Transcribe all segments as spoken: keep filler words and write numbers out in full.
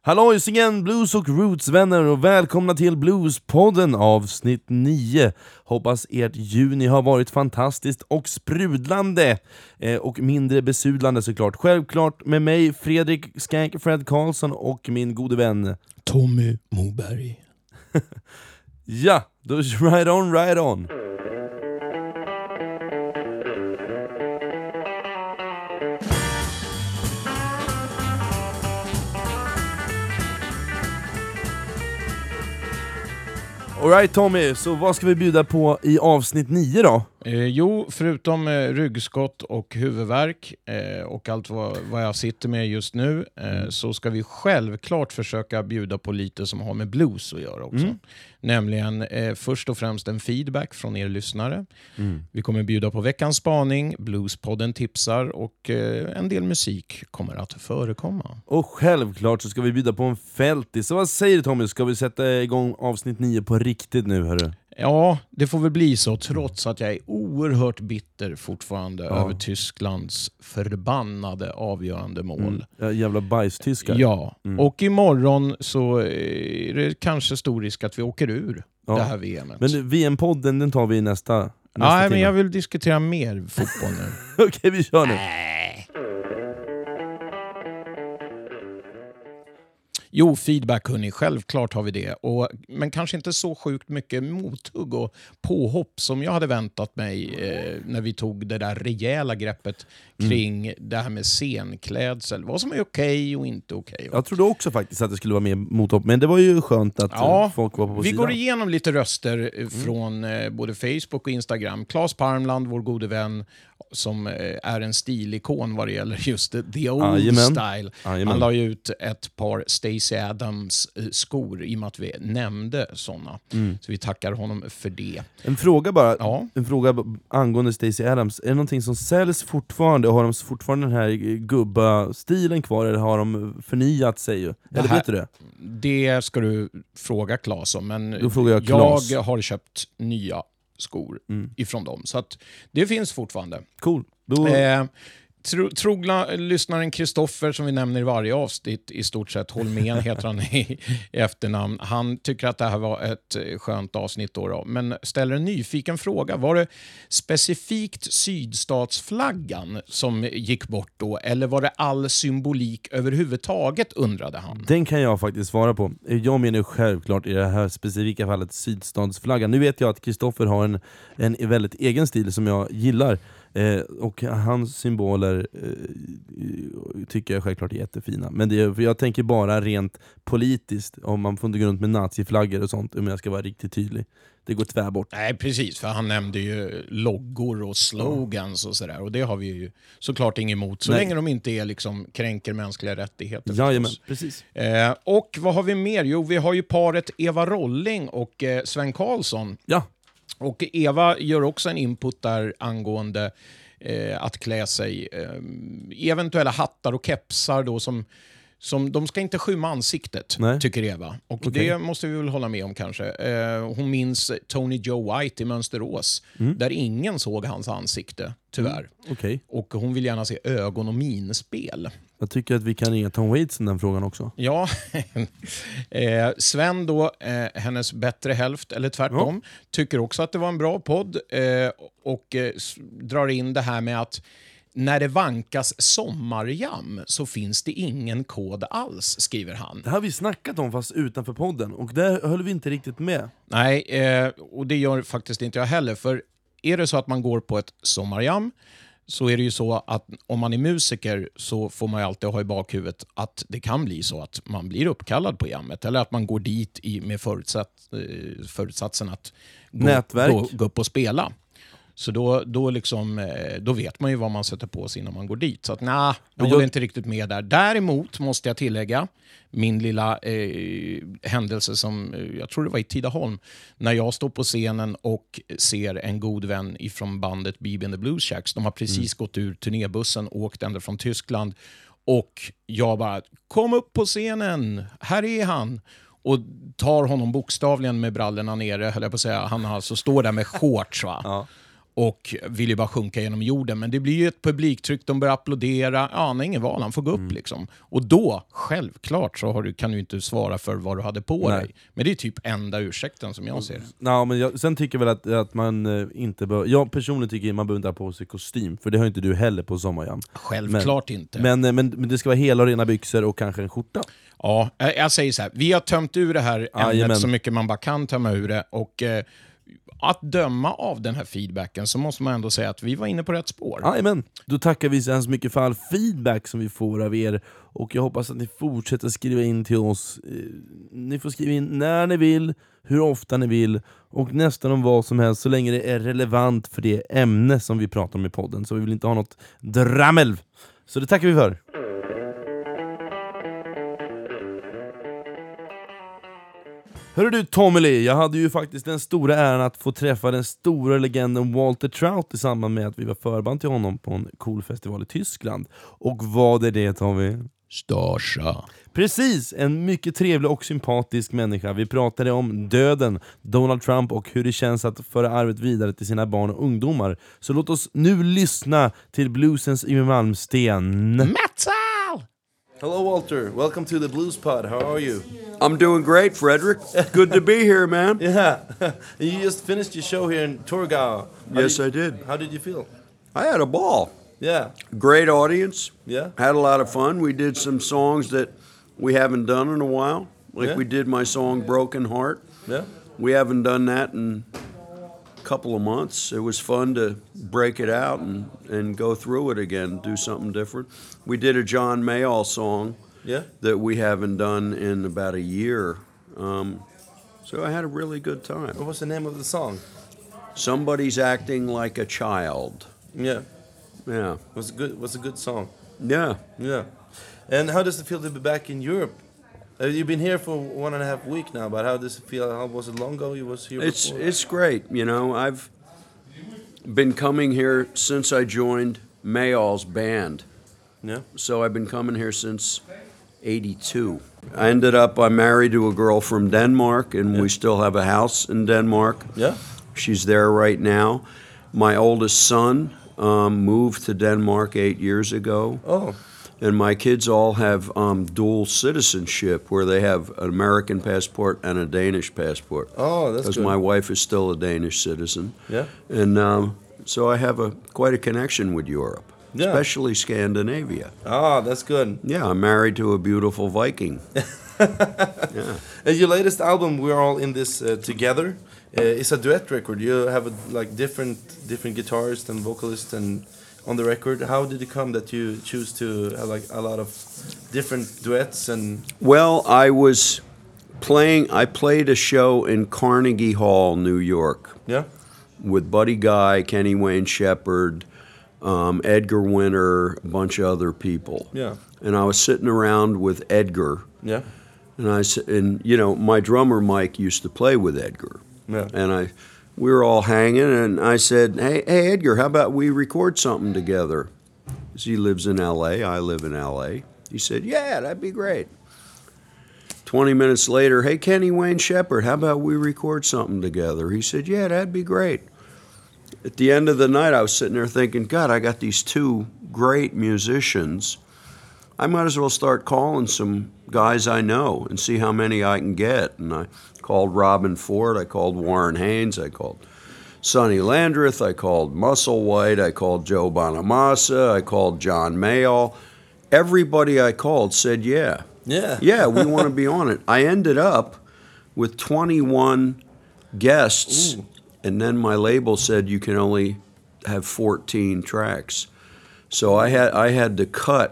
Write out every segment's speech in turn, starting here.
Hallojs igen, blues och roots-vänner, och välkomna till Bluespodden avsnitt nio. Hoppas ert juni har varit fantastiskt och sprudlande eh, och mindre besudlande såklart. Självklart med mig, Fredrik Skank Fred Karlsson, och min gode vän Tommy Moberg. Ja, då right on, right on. Alright Tommy, så vad ska vi bjuda på i avsnitt nio då? Eh, jo, förutom eh, ryggskott och huvudvärk eh, och allt vad, vad jag sitter med just nu eh, så ska vi självklart försöka bjuda på lite som har med blues att göra också. Mm. Nämligen eh, först och främst en feedback från er lyssnare. Mm. Vi kommer bjuda på veckans spaning, Bluespodden tipsar och eh, en del musik kommer att förekomma. Och självklart så ska vi bjuda på en fältis. Så vad säger du Tommy, ska vi sätta igång avsnitt nio på riktigt nu hörru? Ja, det får väl bli så, trots att jag är oerhört bitter fortfarande ja. över Tysklands förbannade avgörande mål. Mm. Ja, jävla bajstyskar. Ja, mm. och imorgon så är det kanske stor risk att vi åker ur ja. det här V M:et. Men V M-podden, den tar vi nästa, nästa Nej, timme. men jag vill diskutera mer fotboll nu. Okej, okay, vi kör nu. Äh. Jo, feedback hörni, självklart har vi det. Och, men kanske inte så sjukt mycket mothugg och påhopp som jag hade väntat mig eh, när vi tog det där rejäla greppet kring mm. det här med scenklädsel. Vad som är okej och inte okej. Jag trodde också faktiskt att det skulle vara mer mothopp, men det var ju skönt att ja, folk var på vi sidan. går igenom lite röster mm. från eh, både Facebook och Instagram. Claes Parmland, vår gode vän, som är en stilikon vad det gäller just the old Ajamän. style. Ajamän. Han la ut ett par Stacey Adams skor i och med att vi nämnde sådana. Mm. Så vi tackar honom för det. En fråga bara, ja. en fråga angående Stacey Adams. Är det någonting som säljs fortfarande? Har de fortfarande den här gubba-stilen kvar, eller har de förnyat sig? Eller det här, vet du det? Det ska du fråga Claes om, men Då frågar jag, Claes. jag har köpt nya skor mm. ifrån dem. Så att det finns fortfarande. Cool. Då... Eh, tro, trogna lyssnaren Kristoffer, som vi nämner i varje avsnitt i stort sett, Holmén heter han i, i efternamn. Han tycker att det här var ett skönt avsnitt då, då. Men ställer en nyfiken fråga. Var det specifikt sydstatsflaggan som gick bort då? Eller var det all symbolik överhuvudtaget, undrade han? Den kan jag faktiskt svara på. Jag menar självklart i det här specifika fallet sydstatsflaggan. Nu vet jag att Kristoffer har en, en väldigt egen stil som jag gillar. Eh, och hans symboler eh, tycker jag självklart är jättefina. Men det är, för jag tänker bara rent politiskt, om man får inte gå runt med naziflaggor och sånt, om jag ska vara riktigt tydlig. Det går tvär bort. Nej, precis, för han nämnde ju loggor och slogans och sådär, och det har vi ju såklart inget emot, så Nej. länge de inte är liksom kränker mänskliga rättigheter. Jajamän, precis. Eh, och vad har vi mer? Jo, vi har ju paret Eva Rolling och eh, Sven Karlsson. Ja. Och Eva gör också en input där angående eh, att klä sig eh, eventuella hattar och kepsar då som, som de ska inte skymma ansiktet. Nej. Tycker Eva. Och okay. det måste vi väl hålla med om kanske. Eh, hon minns Tony Joe White i Mönsterås mm. där ingen såg hans ansikte, tyvärr. Mm. Okay. Och hon vill gärna se ögon- och minspel. Jag tycker att vi kan ringa Tom Waits i den frågan också. Ja, eh, Sven då, eh, hennes bättre hälft, eller tvärtom, ja. tycker också att det var en bra podd eh, och eh, drar in det här med att när det vankas sommarjam så finns det ingen kod alls, skriver han. Det har vi snackat om fast utanför podden, och där höll vi inte riktigt med. Nej, eh, och det gör faktiskt inte jag heller, för är det så att man går på ett sommarjam så är det ju så att om man är musiker så får man ju alltid ha i bakhuvudet att det kan bli så att man blir uppkallad på jammet, eller att man går dit i, med förutsatt, förutsatsen att gå, gå, gå upp och spela. Så då, då, liksom, då vet man ju vad man sätter på sig innan man går dit. Så att nej, jag håller inte riktigt med där. Däremot måste jag tillägga min lilla eh, händelse som, jag tror det var i Tidaholm, när jag står på scenen och ser en god vän ifrån bandet B B and the Blues Shacks. De har precis mm. gått ur turnébussen och åkt ända från Tyskland. Och jag bara, kom upp på scenen, här är han. Och tar honom bokstavligen med brallorna nere, höll jag på att säga. Han alltså står där med shorts, va? Ja. och vill ju bara sjunka genom jorden. Men det blir ju ett publiktryck, de börjar applådera. Ja, han har ingen val, han får gå upp Mm. liksom. Och då, självklart, så har du, kan du inte svara för vad du hade på Nej. dig. Men det är typ enda ursäkten som jag ser det. Ja, men jag, sen tycker jag väl att, att man eh, inte bör, jag personligen tycker man behöver inte ha på sig kostym, för det har inte du heller på sommarjam. Självklart men, inte. Men, eh, men, men det ska vara hela och rena byxor och kanske en skjorta. Ja, jag, jag säger så här, vi har tömt ur det här ämnet Jajamän. så mycket man bara kan tömma ur det. Och eh, att döma av den här feedbacken så måste man ändå säga att vi var inne på rätt spår. Jajamän, då tackar vi så hemskt mycket för all feedback som vi får av er. Och jag hoppas att ni fortsätter skriva in till oss. Eh, Ni får skriva in när ni vill, hur ofta ni vill, och nästan om vad som helst, så länge det är relevant för det ämne som vi pratar om i podden. Så vi vill inte ha något drammel. Så det tackar vi för. Hörru du Tommy Lee, jag hade ju faktiskt den stora äran att få träffa den stora legenden Walter Trout i samband med att vi var förband till honom på en cool festival i Tyskland. Och vad är det, Tommy? Starsa. Precis, en mycket trevlig och sympatisk människa. Vi pratade om döden, Donald Trump och hur det känns att föra arvet vidare till sina barn och ungdomar. Så låt oss nu lyssna till bluesens Yngwie Malmsteen. Metal! Hello Walter, welcome to the Blues Pod. How are you? I'm doing great, Frederick. Good to be here, man. Yeah, you just finished your show here in Torgau. How Yes, did, I did. How did you feel? I had a ball. Yeah, Great audience. yeah. Had a lot of fun. We did some songs that we haven't done in a while. Like Yeah. we did my song Broken Heart. Yeah. We haven't done that in a couple of months. It was fun to break it out and, and go through it again, do something different. We did a John Mayall song Yeah. that we haven't done in about a year. Um, so I had a really good time. What was the name of the song? Somebody's acting like a child. Yeah, Yeah. was good. Was a good song. Yeah. Yeah. And how does it feel to be back in Europe? Uh, you've been here for one and a half week now, but how does it feel? How was it long ago you was here It's before? it's great. You know, I've been coming here since I joined Mayall's band. Yeah. So I've been coming here since eighty-two. I ended up I'm married to a girl from Denmark, and Yeah. we still have a house in Denmark. Yeah. She's there right now. My oldest son um, moved to Denmark eight years ago. Oh. And my kids all have um, dual citizenship, where they have an American passport and a Danish passport. Oh, that's Because good. my wife is still a Danish citizen. Yeah. And um, so I have a quite a connection with Europe, Yeah. especially Scandinavia. Ah, that's good. Yeah, I'm married to a beautiful Viking. Uh, your latest album, We're All in This uh, Together, uh, is a duet record. You have a, like different different guitarists and vocalists and on the record. How did it come that you choose to have like a lot of different duets and Well, I was playing. I played a show in Carnegie Hall, New York, yeah, with Buddy Guy, Kenny Wayne Shepherd, um, Edgar Winter, a bunch of other people. yeah, And I was sitting around with Edgar, yeah, and I s- and you know my drummer Mike used to play with Edgar, yeah, and I we were all hanging, and I said, "Hey, hey Edgar, how about we record something together?" 'Cause he lives in L A, I live in L A. He said, "Yeah, that'd be great." Twenty minutes later, "Hey Kenny Wayne Shepherd, how about we record something together?" He said, "Yeah, that'd be great." At the end of the night, I was sitting there thinking, God, I got these two great musicians. I might as well start calling some guys I know and see how many I can get. And I called Robin Ford, I called Warren Haynes, I called Sonny Landreth, I called Musselwhite, I called Joe Bonamassa, I called John Mayall. Everybody I called said, yeah, yeah, yeah, we want to be on it. I ended up with twenty-one guests, Ooh. and then my label said you can only have fourteen tracks. So I had I had to cut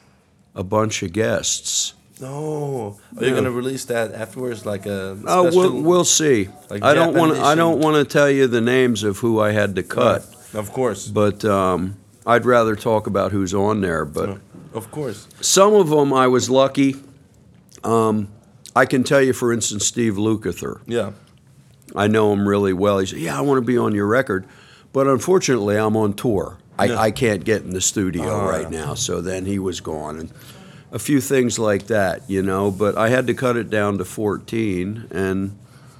a bunch of guests. No, are you Yeah. gonna release that afterwards, like a Oh, special? we'll, we'll see. like I don't want Japanese I don't and- want to tell you the names of who I had to cut, Of course, but um, I'd rather talk about who's on there. But of course, some of them I was lucky. Um, I can tell you, for instance, Steve Lukather. yeah, I know him really well. He said, "Yeah, I want to be on your record," but unfortunately, I'm on tour. I, Yeah. I can't get in the studio Ah. right now. So then he was gone, and a few things like that, you know. But I had to cut it down to fourteen, and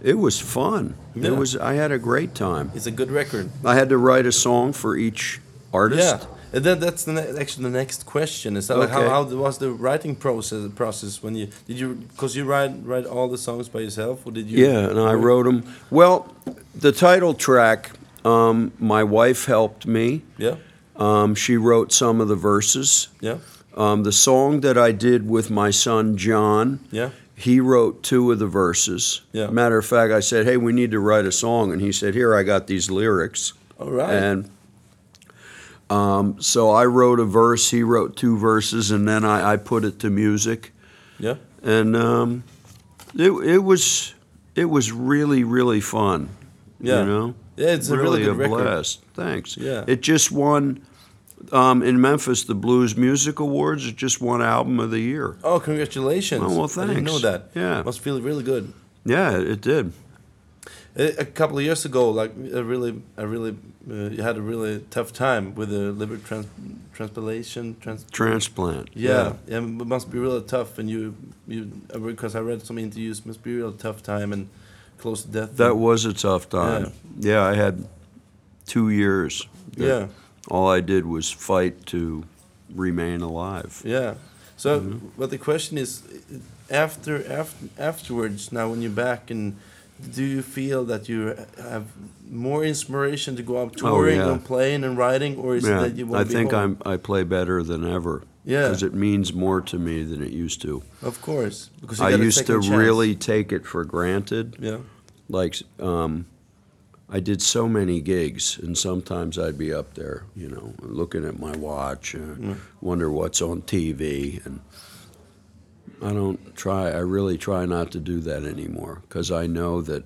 It was fun. Yeah. It was. I had a great time. It's a good record. I had to write a song for each artist. Yeah, and then that's the ne- actually the next question. Is that like how, Okay. how was the writing process? Process when you did you because you write write all the songs by yourself, or did you? Yeah, and I wrote them. Well, the title track, um, my wife helped me. Yeah, Um, she wrote some of the verses. yeah, Um, the song that I did with my son John, yeah. he wrote two of the verses. Yeah. Matter of fact, I said, "Hey, we need to write a song," and he said, "Here, I got these lyrics." All right. And um, so I wrote a verse. He wrote two verses, and then I, I put it to music. Yeah. And um, it it was it was really really fun. Yeah. You know. Yeah, it's a really good a record. blast. Thanks. Yeah. It just won um, in Memphis the Blues Music Awards. It just won Album of the Year. Oh, congratulations! Oh, well, I didn't know thanks. that. Yeah. Must feel really good. Yeah, it did. A, a couple of years ago, like a really, a really, uh, you had a really tough time with the liver trans transplantation. Trans Transplant. yeah, yeah, it must be really tough. And you, you, uh, because I read some interviews, it must be a real tough time and close to death. That was a tough time. Yeah, I had two years. that Yeah. All I did was fight to remain alive. Yeah. So, Mm-hmm. but the question is, after, after afterwards, now when you're back, and do you feel that you have more inspiration to go out touring Oh, yeah. and playing and writing, or is Yeah, it that you want I to be think home? I'm. I play better than ever. Yeah. Because it means more to me than it used to. Of course, because you I got a used to second chance. really take it for granted. Yeah. Like, um, I did so many gigs, and sometimes I'd be up there, you know, looking at my watch, uh, wonder what's on T V, and I don't try. I really try not to do that anymore because I know that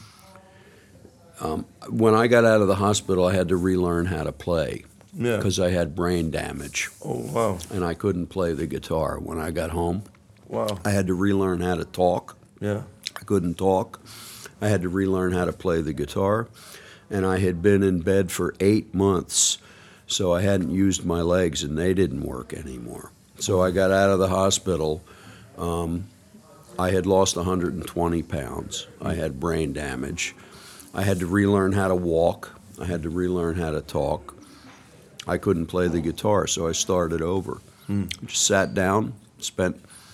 um, when I got out of the hospital, I had to relearn how to play Yeah. because I had brain damage Oh wow. and I couldn't play the guitar. When I got home, Wow. I had to relearn how to talk. Yeah. I couldn't talk. I had to relearn how to play the guitar. And I had been in bed for eight months, so I hadn't used my legs, and they didn't work anymore. So I got out of the hospital. Um, I had lost one hundred twenty pounds. I had brain damage. I had to relearn how to walk. I had to relearn how to talk. I couldn't play the guitar, so I started over. Just sat down, spent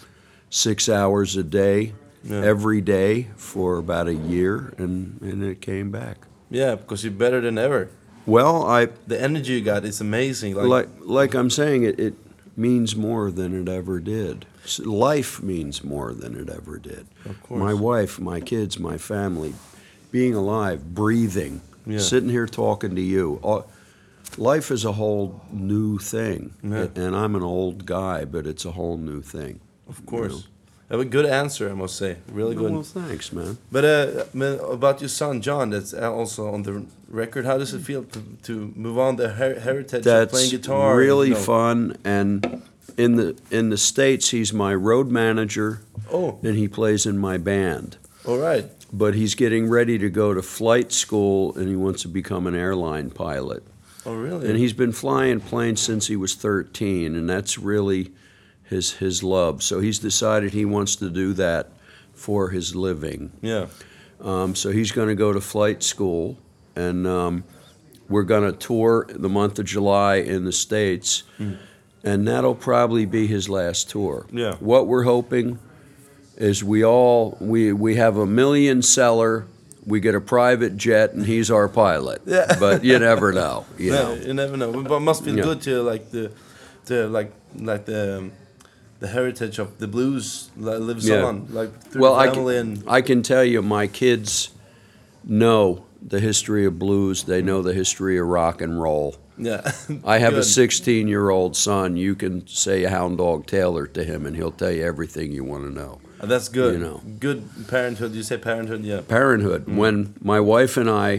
six hours a day, Yeah. every day for about a year, and, and it came back. Yeah, because you're better than ever. Well, I The energy you got is amazing. Like, like like I'm saying, it, it means more than it ever did. S- Life means more than it ever did. Of course. My wife, my kids, my family, being alive, breathing, Yeah. sitting here talking to you. All, life is a whole new thing. Yeah. And I'm an old guy, but it's a whole new thing. of course. Have a good answer, I must say. Really good. Well, thanks, man. But uh, man, about your son John, that's also on the record. How does it feel to, to move on the her- heritage of playing That's guitar? really you know? fun. And in the in the States, he's my road manager, Oh, and he plays in my band. all right. But he's getting ready to go to flight school, and he wants to become an airline pilot. Oh, really? And he's been flying planes since he was thirteen, and that's really his his love. So he's decided he wants to do that for his living. yeah. Um, so he's going to go to flight school, and um, we're going to tour the month of July in the States, and that'll probably be his last tour. Yeah. What we're hoping is we all we we have a million seller. We get a private jet, and he's our pilot. Yeah. But you never know. You No, know. you never know. But it must feel Yeah. good to like the, the like like the um, the heritage of the blues li- lives Yeah. on, like through Well, the I family can, and I can tell you, my kids know the history of blues. They know the history of rock and roll. yeah. I have a Good. sixteen-year-old son. You can say Hound Dog Taylor to him, and he'll tell you everything you want to know. Uh, That's good. you know. Good parenthood. You say parenthood, yeah. Parenthood. When my wife and I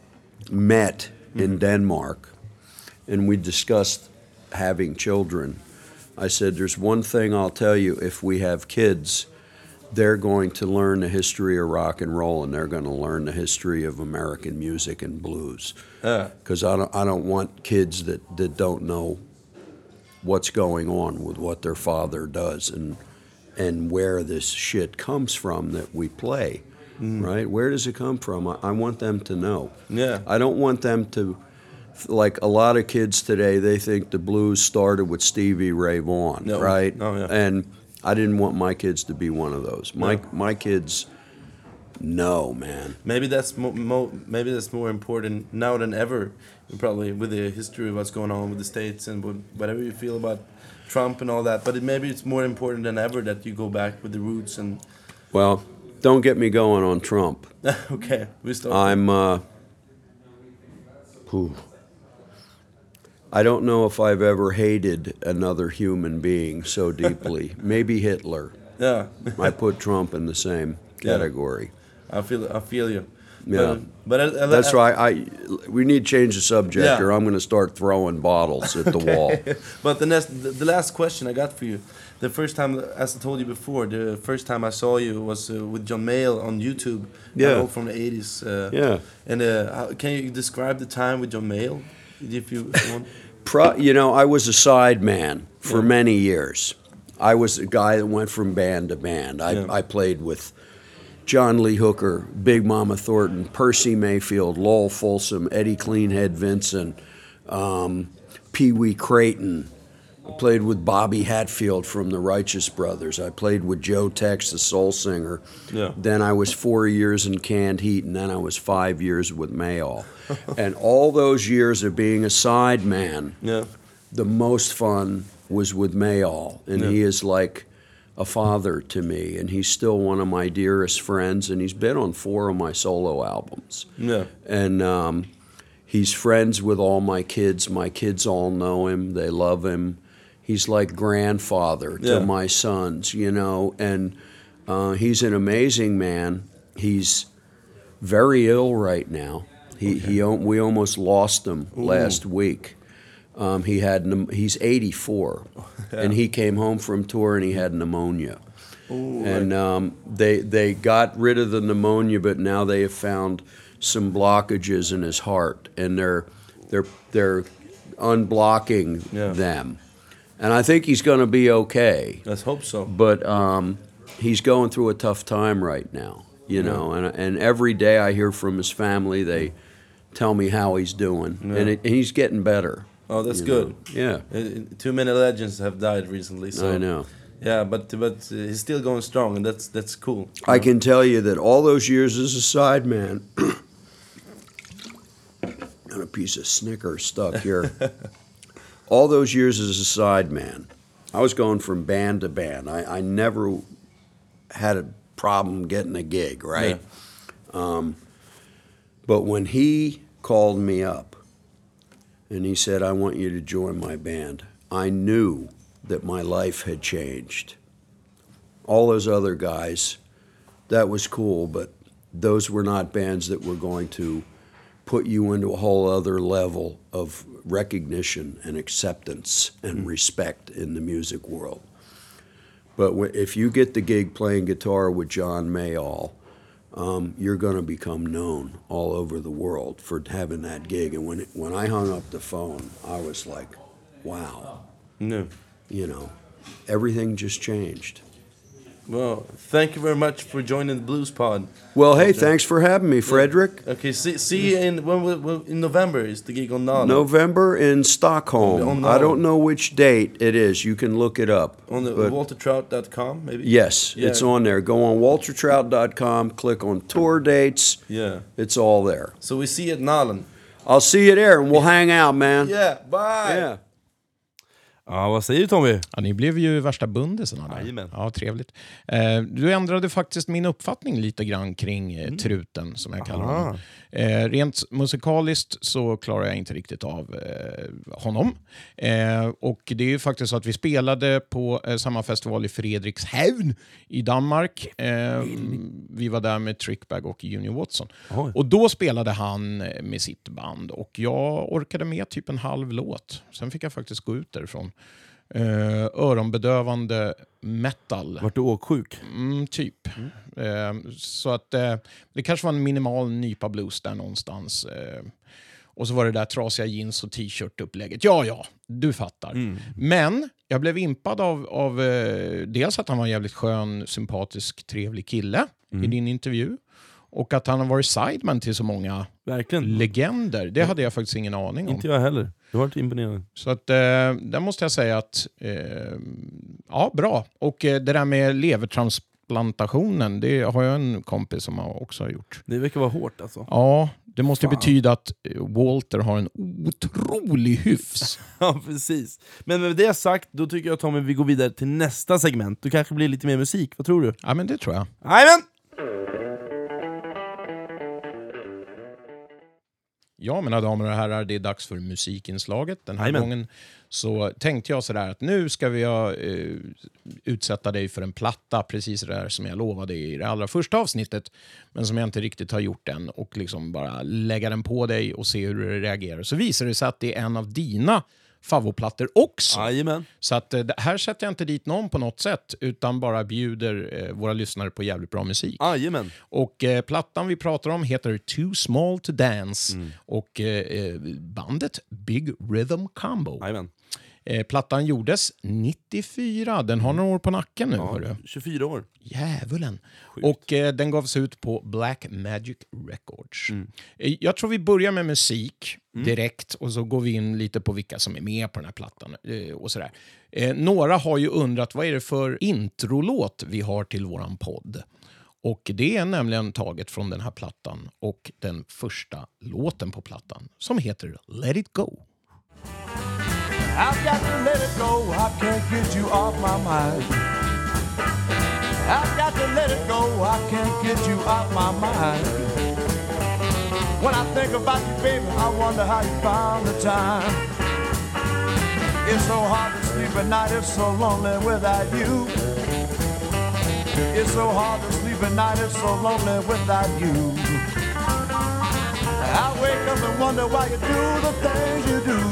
met in Denmark, and we discussed having children, I said, there's one thing I'll tell you, if we have kids, they're going to learn the history of rock and roll, and they're going to learn the history of American music and blues. Yeah. Because I don't, I don't want kids that, that don't know what's going on with what their father does and and where this shit comes from that we play. right? Where does it come from? I, I want them to know. Yeah. I don't want them to, like a lot of kids today, they think the blues started with Stevie Ray Vaughan, No. right? Oh, yeah. And I didn't want my kids to be one of those. My No. my kids know, man. Maybe that's mo- mo- maybe that's more important now than ever. Probably with the history of what's going on with the states and with whatever you feel about Trump and all that. But it, maybe it's more important than ever that you go back with the roots and. Well, don't get me going on Trump. Okay, we start. I'm. Uh, whew. I don't know if I've ever hated another human being so deeply. Maybe Hitler. Yeah. I put Trump in the same category. I feel I feel you. Yeah. But, but I, I, That's I, why I. We need to change the subject, Yeah. or I'm going to start throwing bottles at the wall. But the next, the, the last question I got for you, the first time, as I told you before, the first time I saw you was uh, with John Mayall on YouTube. Yeah. uh, from the eighties. Uh, Yeah. And uh, how, can you describe the time with John Mayall, if you, if you want? Pro, you know, I was a side man for Yeah. many years. I was a guy that went from band to band. I, Yeah. I played with John Lee Hooker, Big Mama Thornton, Percy Mayfield, Lowell Folsom, Eddie Cleanhead Vincent, um, Pee Wee Creighton. I played with Bobby Hatfield from the Righteous Brothers. I played with Joe Tex, the soul singer. Yeah. Then I was four years in Canned Heat, and then I was five years with Mayall. And all those years of being a side man, Yeah. the most fun was with Mayall, and Yeah. he is like a father to me, and he's still one of my dearest friends, and he's been on four of my solo albums. Yeah. And um, he's friends with all my kids. My kids all know him. They love him. He's like grandfather to Yeah. my sons, you know, and uh, he's an amazing man. He's very ill right now. He, he al- we almost lost him last week. Um, he had pneum- he's eighty-four, and he came home from tour and he had pneumonia. Ooh, And um, they they got rid of the pneumonia, but now they have found some blockages in his heart, and they're they're they're unblocking Yeah. them. And I think he's going to be okay, Let's hope so. but um, he's going through a tough time right now, you know. And and every day I hear from his family, they tell me how he's doing, Yeah. and, it, and he's getting better. Oh, that's you good. know. Yeah, Uh, Too many legends have died recently. So I know. Yeah, but but uh, he's still going strong, and that's that's cool. I can tell you that all those years as a sideman, and a piece of Snickers stuck here. All those years as a sideman, I was going from band to band. I, I never had a problem getting a gig, right? Um, but when he called me up and he said, "I want you to join my band," I knew that my life had changed. All those other guys, that was cool, but those were not bands that were going to put you into a whole other level of recognition and acceptance and respect in the music world. But wh- if you get the gig playing guitar with John Mayall, um, you're going to become known all over the world for having that gig. And when it, when I hung up the phone, I was like, wow, No. you know, everything just changed. Well, thank you very much for joining the Blues Pod. Well, hey, thanks for having me, Frederick. Okay, see, see you in when, we- when, in November is the gig on Nala. November in Stockholm. On I don't know which date it is. You can look it up. On the But walter trout dot com, maybe? yes, Yeah. it's on there. Go on walter trout dot com, click on tour dates. Yeah. It's all there. So we see you at Nalan. I'll see you there, and we'll hang out, man. Yeah, bye! Yeah. Ja, vad säger du, Tommy? Ja, ni blev ju värsta bundisarna där. Jajamän. Ja, trevligt. Eh, du ändrade faktiskt min uppfattning lite grann kring eh, truten, som jag kallar Aha. honom. Eh, rent musikaliskt så klarar jag inte riktigt av eh, honom. Eh, och det är ju faktiskt så att vi spelade på eh, samma festival i Fredrikshavn i Danmark. Eh, vi var där med Trickbag och Junior Watson. Oj. Och då spelade han med sitt band och jag orkade med typ en halv låt. Sen fick jag faktiskt gå ut därifrån. Uh, öronbedövande metal. Vart du åksjuk? Mm, typ. Mm. Uh, så att uh, det kanske var en minimal nypa blues där någonstans. Uh, och så var det där trasiga jeans och t-shirt-upplägget. Ja, ja, du fattar. Mm. Men jag blev impad av, av uh, dels att han var en jävligt skön, sympatisk, trevlig kille Mm. i din intervju. Och att han har varit sideman till så många Verkligen. legender, det hade jag faktiskt ingen aning om. Inte jag heller. Det var imponerande. Så att, eh, där måste jag säga att, eh, ja, bra. Och eh, det där med levertransplantationen, det har jag en kompis som har också har gjort. Det verkar vara hårt alltså. Ja, det måste Fan. betyda att Walter har en otrolig hyfs. Ja, precis. Men med det sagt, då tycker jag Tommy vi går vidare till nästa segment. Det kanske blir lite mer musik, vad tror du? Ja, men det tror jag. Jajamän! Ja, mina damer och herrar, det är dags för musikinslaget. Den här Amen. gången så tänkte jag sådär att nu ska vi uh, utsätta dig för en platta, precis det där som jag lovade i det allra första avsnittet, men som jag inte riktigt har gjort än, och liksom bara lägga den på dig och se hur du reagerar. Så visar det sig att det är en av dina favoplattor också. Jajamän. Så att uh, här sätter jag inte dit någon på något sätt, utan bara bjuder uh, våra lyssnare på jävligt bra musik. Jajamän. Och eh, plattan vi pratar om heter Too Small to Dance. Mm. Och eh, bandet Big Rhythm Combo. Jajamän. Eh, plattan gjordes nittiofyra. Den har några år på nacken nu. Ja, Hörru. tjugofyra år. Djävulen. Sjukt. Och eh, den gavs ut på Black Magic Records. Mm. Eh, jag tror vi börjar med musik Mm. direkt. Och så går vi in lite på vilka som är med på den här plattan. Eh, och sådär. Eh, några har ju undrat vad är det för introlåt vi har till våran podd. Och det är nämligen taget från den här plattan och den första låten på plattan som heter Let It Go. I've got to let it go, I can't get you off my mind. I've got to let it go, I can't get you off my mind. When I think about you, baby, I wonder how you found the time. It's so hard to sleep at night, it's so lonely without you. It's so hard to sleep at night, it's so lonely without you. I wake up and wonder why you do the things you do.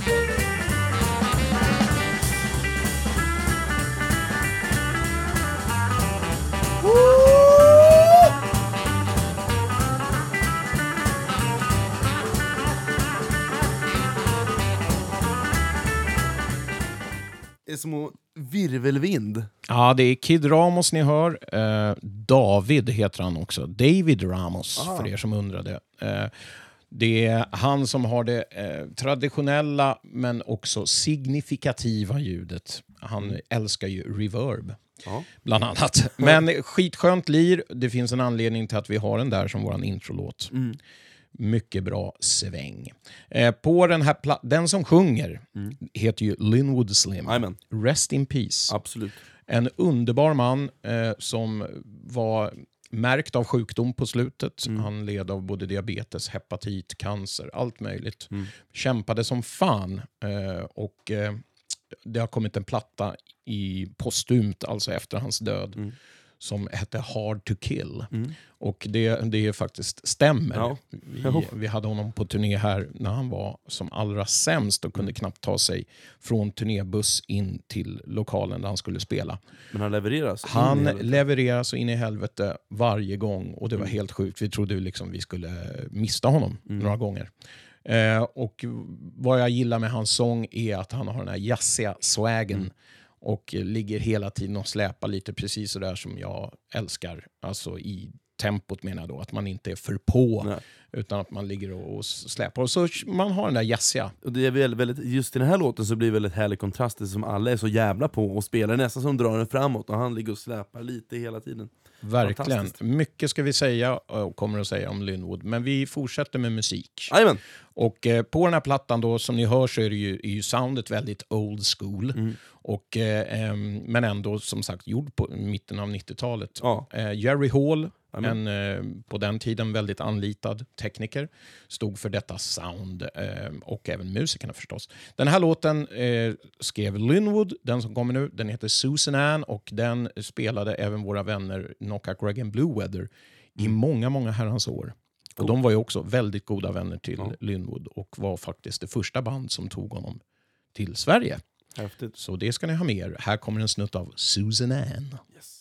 Det är som virvelvind. Ja, det är Kid Ramos ni hör. Eh, David heter han också. David Ramos, Aha. för er som undrade. Eh, det är han som har det eh, traditionella men också signifikativa ljudet. Han Mm. älskar ju reverb. Ja. Bland annat. Men skitskönt lir. Det finns en anledning till att vi har den där som våran introlåt. Mm. Mycket bra sväng. Eh, på den här pla- den som sjunger Mm. heter ju Linwood Slim. Jajamän. Rest in peace. Absolut. En underbar man eh, som var märkt av sjukdom på slutet. Mm. Han led av både diabetes, hepatit, cancer, allt möjligt. Mm. Kämpade som fan. Eh, och eh, det har kommit en platta i postumt, alltså efter hans död, Mm. som hette Hard to Kill. Mm. Och det, det faktiskt stämmer. Ja. Vi, vi hade honom på turné här när han var som allra sämst och kunde Mm. knappt ta sig från turnébuss in till lokalen där han skulle spela. Men han levereras. Han In i helvete. levererar så in i helvete varje gång och det var Mm. helt sjukt. Vi trodde liksom vi skulle mista honom Mm. några gånger. Eh, och vad jag gillar med hans sång är att han har den här jazziga swagen. Mm. Och ligger hela tiden och släpar lite precis så där som jag älskar. Alltså i tempot menar jag då. Att man inte är för på. Nej. Utan att man ligger och släpar. Och så man har den där jazziga. Och det är väldigt, väldigt, just i den här låten så blir det väldigt härlig kontrast som alla är så jävla på och spelar nästan som drar den framåt och han ligger och släpar lite hela tiden. Verkligen. Fantastiskt. Mycket ska vi säga och kommer att säga om Linwood. Men vi fortsätter med musik. Jajamän. Och eh, på den här plattan då, som ni hör så är, det ju, är ju soundet väldigt old school. Mm. Och, eh, em, men ändå som sagt gjord på mitten av nittiotalet. Ja. Eh, Jerry Hall, Amen. en eh, på den tiden väldigt anlitad tekniker, stod för detta sound eh, och även musikerna förstås. Den här låten eh, skrev Linwood, den som kommer nu, den heter Susan Ann och den spelade även våra vänner Knockout Reagan Blue Weather i många, många herrans år. Och de var ju också väldigt goda vänner till Ja. Linwood och var faktiskt det första band som tog honom till Sverige. Häftigt. Så det ska ni ha med er. Här kommer en snutt av Susan Ann. Yes.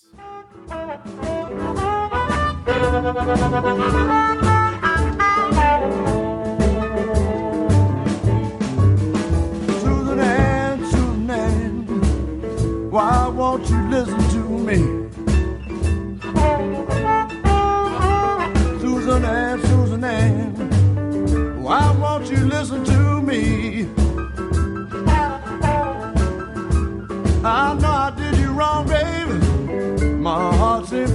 Susan Ann, Susan Ann, why won't you listen to me?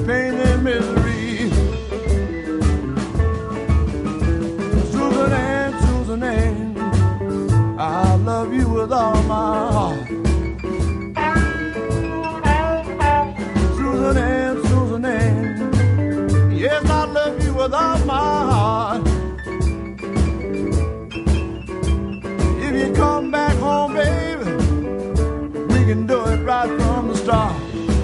pain and misery. Susan Ann, Susan Ann, I love you with all my heart. Susan Ann, Susan Ann, yes, I love you with all my heart. If you come back home, baby, we can do it right from the start.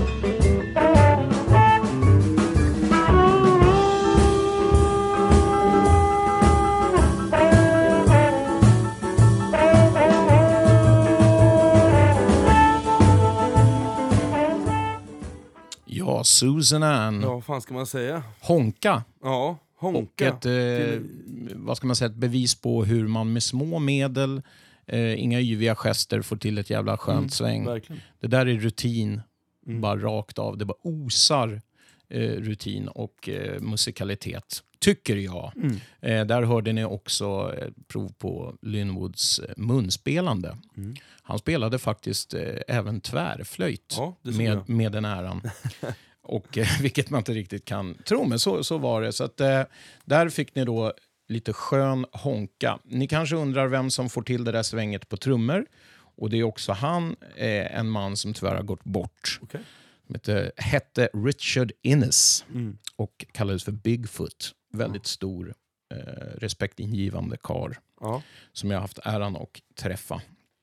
Ja, Susan Ann. Ja, vad fan ska man säga? Honka. Ja, honka. Och ett, eh, vad ska man säga, ett bevis på hur man med små medel, eh, inga yviga gester, får till ett jävla skönt Mm, sväng. verkligen. Det där är rutin, Mm. bara rakt av. Det bara osar eh, rutin och eh, musikalitet, tycker jag. Mm. Eh, där hörde ni också eh, prov på Lynwoods eh, munspelande. Mm. Han spelade faktiskt eh, även tvärflöjt Ja, det såg med, jag. med den äran. Och, eh, vilket man inte riktigt kan tro, men så, så var det. Så att, eh, där fick ni då lite skön honka. Ni kanske undrar vem som får till det där svänget på trummor. Och det är också han, eh, en man som tyvärr har gått bort. Okej. Som hette, hette Richard Innes Mm. och kallades för Bigfoot. Väldigt stor, eh, respektingivande karl Ja. som jag har haft äran att träffa.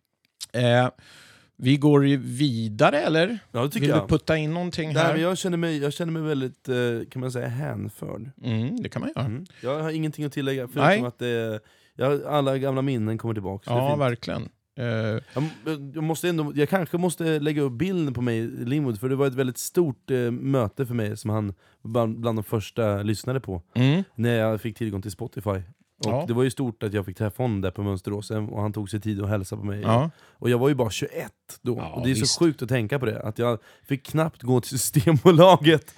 Eh, vi går ju vidare, eller? Ja, det tycker Vill jag. du putta in någonting Nej, här? men jag, känner mig, jag känner mig väldigt, eh, kan man säga, hänförd. Mm, det kan man göra. Mm. Jag har ingenting att tillägga, förutom Nej. att det, jag, alla gamla minnen kommer tillbaka. Det är Ja, fint. verkligen. Eh, Jag, jag, måste ändå, jag kanske måste lägga upp bilden på mig, Lynwood, för det var ett väldigt stort eh, möte för mig som han bland, bland de första lyssnade på. mm. När jag fick tillgång till Spotify. Och Ja. det var ju stort att jag fick träffa honom där på Mönsteråsen, och han tog sig tid att hälsa på mig. Ja. Och jag var ju bara tjugoett då, Ja, och det är visst. så sjukt att tänka på det, att jag fick knappt gå till Systembolaget.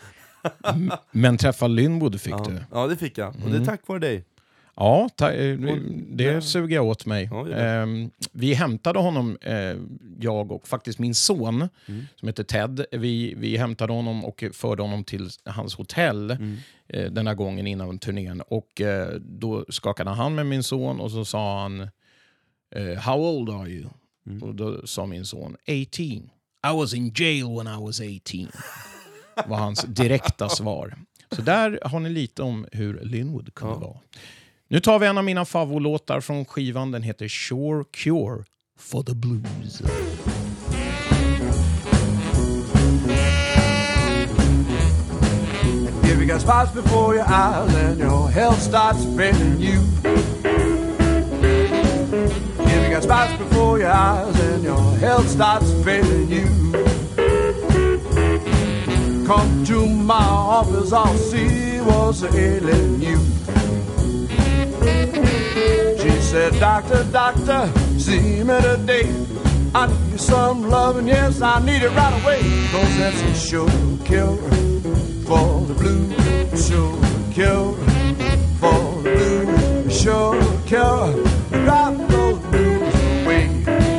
Men träffa Lynwood fick Ja. du. Ja, det fick jag, och det är Mm. tack vare dig. Ja, ta, eh, Och- det ja. suger jag åt mig. Ja, det är Eh, vi hämtade honom, eh, jag och faktiskt min son, Mm. som heter Ted. Vi, vi hämtade honom och förde honom till hans hotell Mm. eh, den här gången innan turnén. Och eh, då skakade han med min son och så sa han eh, How old are you? Mm. Och då sa min son eighteen. I was in jail when I was eighteen. var hans direkta svar. Så där har ni lite om hur Lynwood kunde Ja. vara. Nu tar vi en av mina favoritlåtar från skivan. Den heter Sure Cure for the Blues. If you got spots before your eyes and your health starts failing you. If you got spots before your eyes and your health starts failing you. Come to my office, I'll see what's ailing you. She said, Doctor, doctor, see me today. I need some loving, yes, I need it right away. Cause that's a sure cure for the blues, sure cure for the blues, sure cure. Drive those blues away.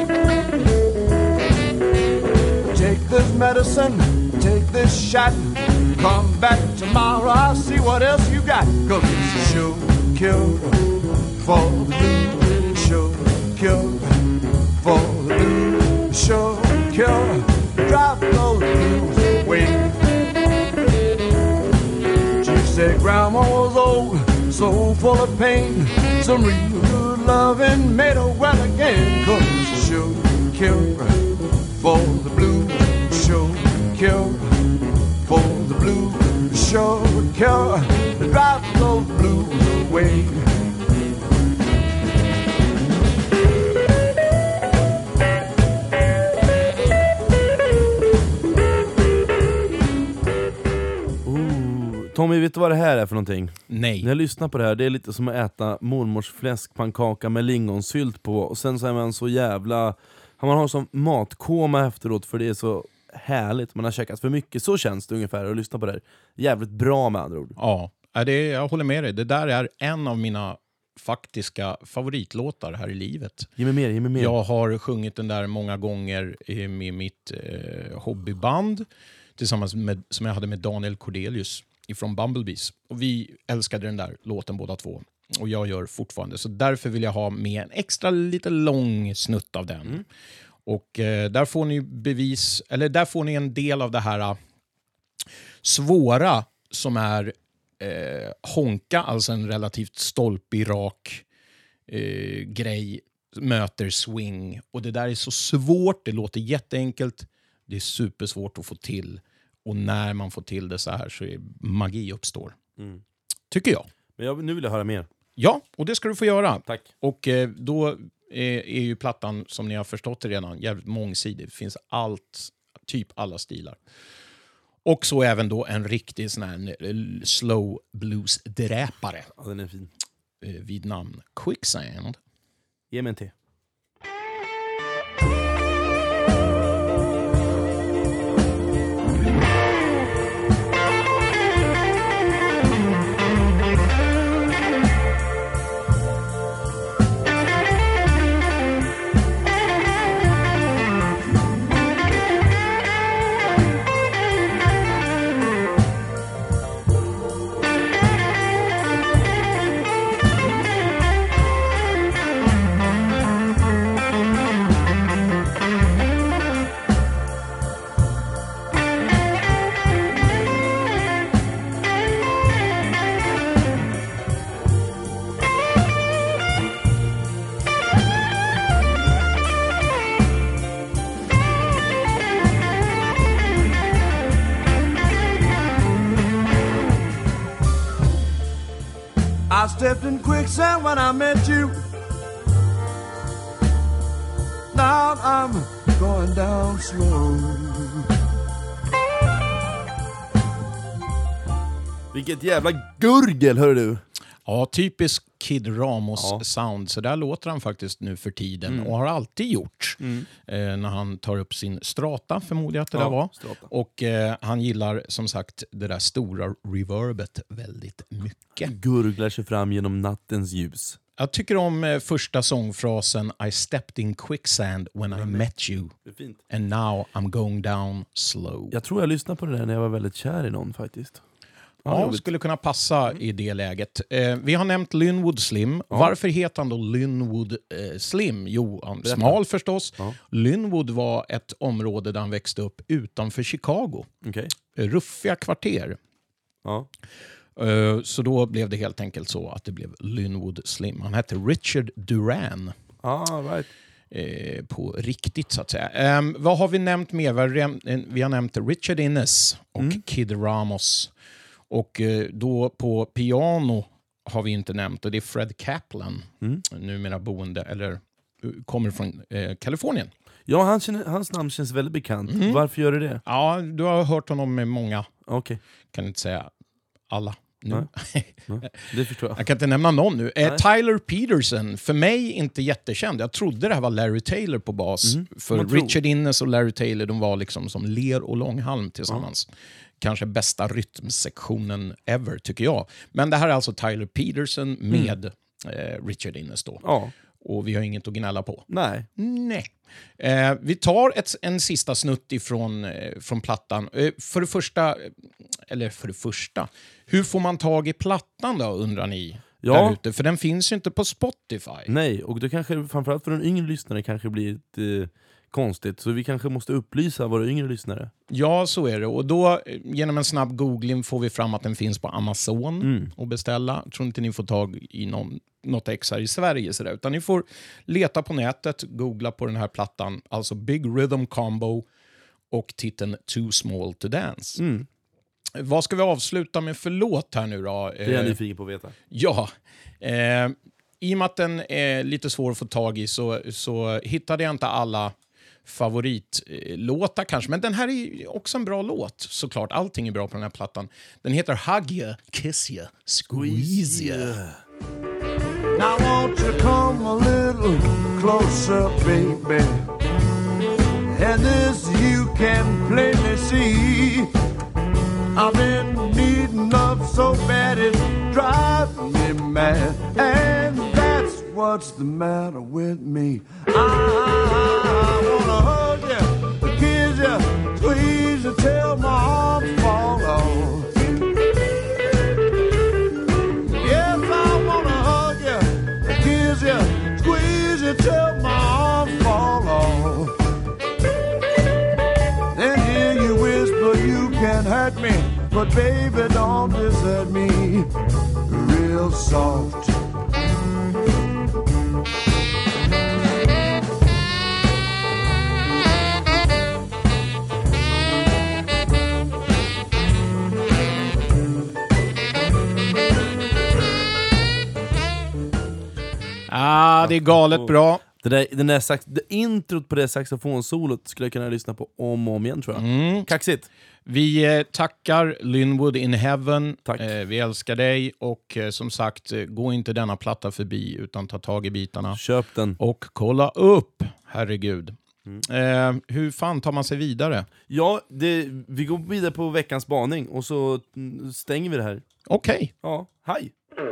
Take this medicine, take this shot. Come back tomorrow, I'll see what else you got. Cause it's a sure cure for the blues, sure cure for the blues, sure cure. Drive those blues away. She said Grandma was old, so full of pain. Some real good loving made her well again. Cause it's a sure cure for the blues, sure cure for the blues, sure cure. Drive those blues away. Ooh. Tommy, vet du vad det här är för någonting? Nej. När jag lyssnar på det här, det är lite som att äta mormors fläskpannkaka med lingonsylt på, och sen så är man så jävla... Man har som matkoma efteråt, för det är så härligt. Man har käkat för mycket, så känns det ungefär att lyssna på det här. Jävligt bra med andra ord. Ja, det, jag håller med dig. Det där är en av mina faktiska favoritlåtar här i livet. Ge mig mer, ge mig mer. Jag har sjungit den där många gånger med mitt eh, hobbyband. tillsammans med, som jag hade med Daniel Cordelius ifrån Bumblebees. Och vi älskade den där låten båda två. Och jag gör fortfarande. Så därför vill jag ha med en extra lite lång snutt av den. Mm. Och eh, där får ni bevis, eller där får ni en del av det här uh, svåra som är eh, honka, alltså en relativt stolpig, rak eh, grej, möter swing. Och det där är så svårt, det låter jätteenkelt, det är supersvårt att få till. Och när man får till det så här så är magi uppstår. Mm. Tycker jag. Men jag, nu vill jag höra mer. Ja, och det ska du få göra. Tack. Och eh, då är, är ju plattan, som ni har förstått det redan, jävligt mångsidig. Det finns allt, typ alla stilar. Och så även då en riktig sån här slow blues-dräpare. Ja, den är fin. Eh, vid namn Quicksand. Ge mig en te. I stepped in quicksand when I met you. Now I'm going down slow. Vilket jävla gurgel, hör du? Ja, typisk Kid Ramos ja. sound. Så där låter han faktiskt nu för tiden. Mm. Och har alltid gjort. Mm. Eh, när han tar upp sin strata, förmodar jag att det ja, där var. Strata. Och eh, han gillar som sagt det där stora reverbet väldigt mycket. Gurglar sig fram genom nattens ljus. Jag tycker om eh, första sångfrasen I stepped in quicksand when I met you. Det är fint. And now I'm going down slow. Jag tror jag lyssnade på det där när jag var väldigt kär i någon faktiskt. Ja, ja skulle kunna passa i det läget. Eh, vi har nämnt Linwood Slim. Ja. Varför heter han då Linwood eh, Slim? Jo, han smal förstås. Ja. Linwood var ett område där han växte upp utanför Chicago. Okay. Ruffiga kvarter. Ja. Eh, så då blev det helt enkelt så att det blev Linwood Slim. Han hette Richard Duran. Ah, right. Eh, på riktigt så att säga. Eh, vad har vi nämnt mer? Vi har nämnt Richard Innes och mm. Kid Ramos. Och då på piano har vi inte nämnt, och det är Fred Kaplan, mm. numera boende, eller kommer från eh, Kalifornien. Ja, han känner, hans namn känns väldigt bekant. Mm. Varför gör det det? Ja, du har hört honom med många. Okay. Kan inte säga alla nu. Nej. Nej, det förstår jag. Jag kan inte nämna någon nu. Eh, Tyler Peterson, för mig inte jättekänd. Jag trodde det här var Larry Taylor på bas. Mm. För Richard Innes och Larry Taylor, de var liksom som ler och långhalm tillsammans. Ja. Kanske bästa rytmsektionen ever, tycker jag. Men det här är alltså Tyler Peterson med mm. eh, Richard Innes då. Ja. Och vi har inget att gnälla på. Nej. Nej. Eh, vi tar ett, en sista snutt ifrån eh, från plattan. Eh, för det första, eller för det första, hur får man tag i plattan då, undrar ni? Ja. Där ute? För den finns ju inte på Spotify. Nej, och det kanske, framförallt för en yngre lyssnare, kanske blir ett... Eh... konstigt, så vi kanske måste upplysa våra yngre lyssnare. Ja, så är det. Och då, genom en snabb googling får vi fram att den finns på Amazon mm. och beställa. Jag tror inte ni får tag i någon, något ex här i Sverige, så där, utan ni får leta på nätet, googla på den här plattan, alltså Big Rhythm Combo och titeln Too Small to Dance. Mm. Vad ska vi avsluta med för låt här nu då? Det är jag nyfiken på att veta. Ja, eh, i och med att den är lite svår att få tag i så, så hittade jag inte alla favoritlåtar kanske, men den här är också en bra låt, såklart. Allting är bra på den här plattan. Den heter Hug Ya, Kiss Ya, Squeeze Ya. Now won't you come a little closer, baby, and this you can plainly see. I've been needing love so bad it's driving me mad, and that's what's the matter with me. I, I wanna hug you, kiss squeeze you, squeeze you till my arms fall off. Yes, I wanna hug you, kiss you, squeeze you till my arms fall off. Then hear you whisper you can hurt me, but baby don't desert me real soft. Ah, det är galet bra. Det där, den där sax, det introt på det saxofonsolot skulle jag kunna lyssna på om och om igen, tror jag. Mm. Kaxigt. Vi eh, tackar Linwood in Heaven. Tack. Eh, vi älskar dig och eh, som sagt, eh, gå inte denna platta förbi utan ta tag i bitarna. Köp den. Och kolla upp, herregud. Mm. Eh, hur fan tar man sig vidare? Ja, det, vi går vidare på veckans spaning och så stänger vi det här. Okej. Okay. Ja, hej.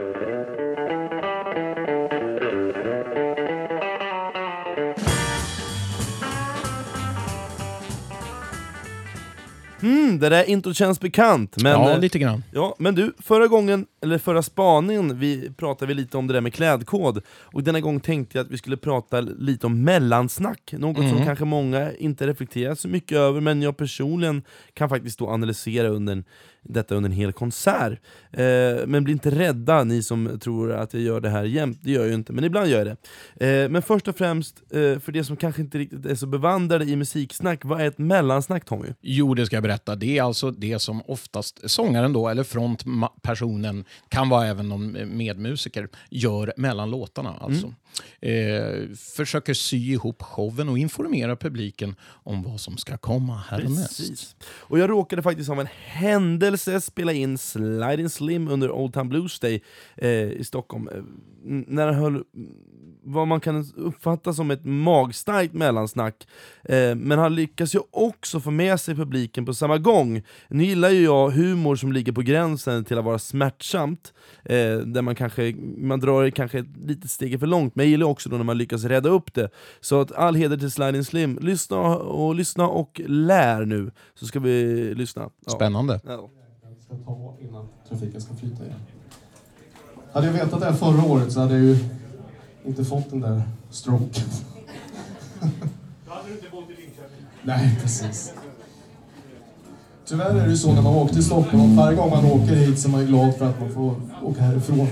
Mm, det där inte känns bekant. Men, ja, lite grann. Ja, men du, förra gången, eller förra spaningen, vi pratade vi lite om det där med klädkod. Och denna gång tänkte jag att vi skulle prata lite om mellansnack. Något mm. som kanske många inte reflekterar så mycket över, men jag personligen kan faktiskt då analysera under en, detta under en hel konsert. Eh, men bli inte rädda, ni som tror att jag gör det här jämt. Det gör jag ju inte, men ibland gör jag det. Eh, men först och främst, eh, för det som kanske inte riktigt är så bevandrade i musiksnack, vad är ett mellansnack, Tommy? Jo, det ska jag berätta. Det är alltså det som oftast sångaren då, eller frontpersonen, kan vara även någon medmusiker, gör mellan låtarna. Alltså. Mm. Eh, försöker sy ihop showen och informera publiken om vad som ska komma härnäst. Precis. Och jag råkade faktiskt av en händelse spela in Sliding Slim under Old Town Blues Day eh, i Stockholm. Eh, när han höll vad man kan uppfatta som ett magstarkt mellansnack. Eh, men han lyckas ju också få med sig publiken på samma gång. Nu gillar ju jag humor som ligger på gränsen till att vara smärtsamt. Eh, där man kanske man drar kanske ett litet steg för långt. Men jag gillar också då när man lyckas rädda upp det. Så att all heder till Sliding Slim. Lyssna och, lyssna och lär nu. Så ska vi lyssna. Ja. Spännande. Ja. Jag ska ta innan trafiken ska flyta igen. Hade jag vetat det här förra året så hade jag ju inte fått den där stroken. Då hade du inte bott i Linköping. Nej, precis. Tyvärr är det ju så när man åker till Stockholm. Varje gång man åker hit så är man ju glad för att man får åka härifrån.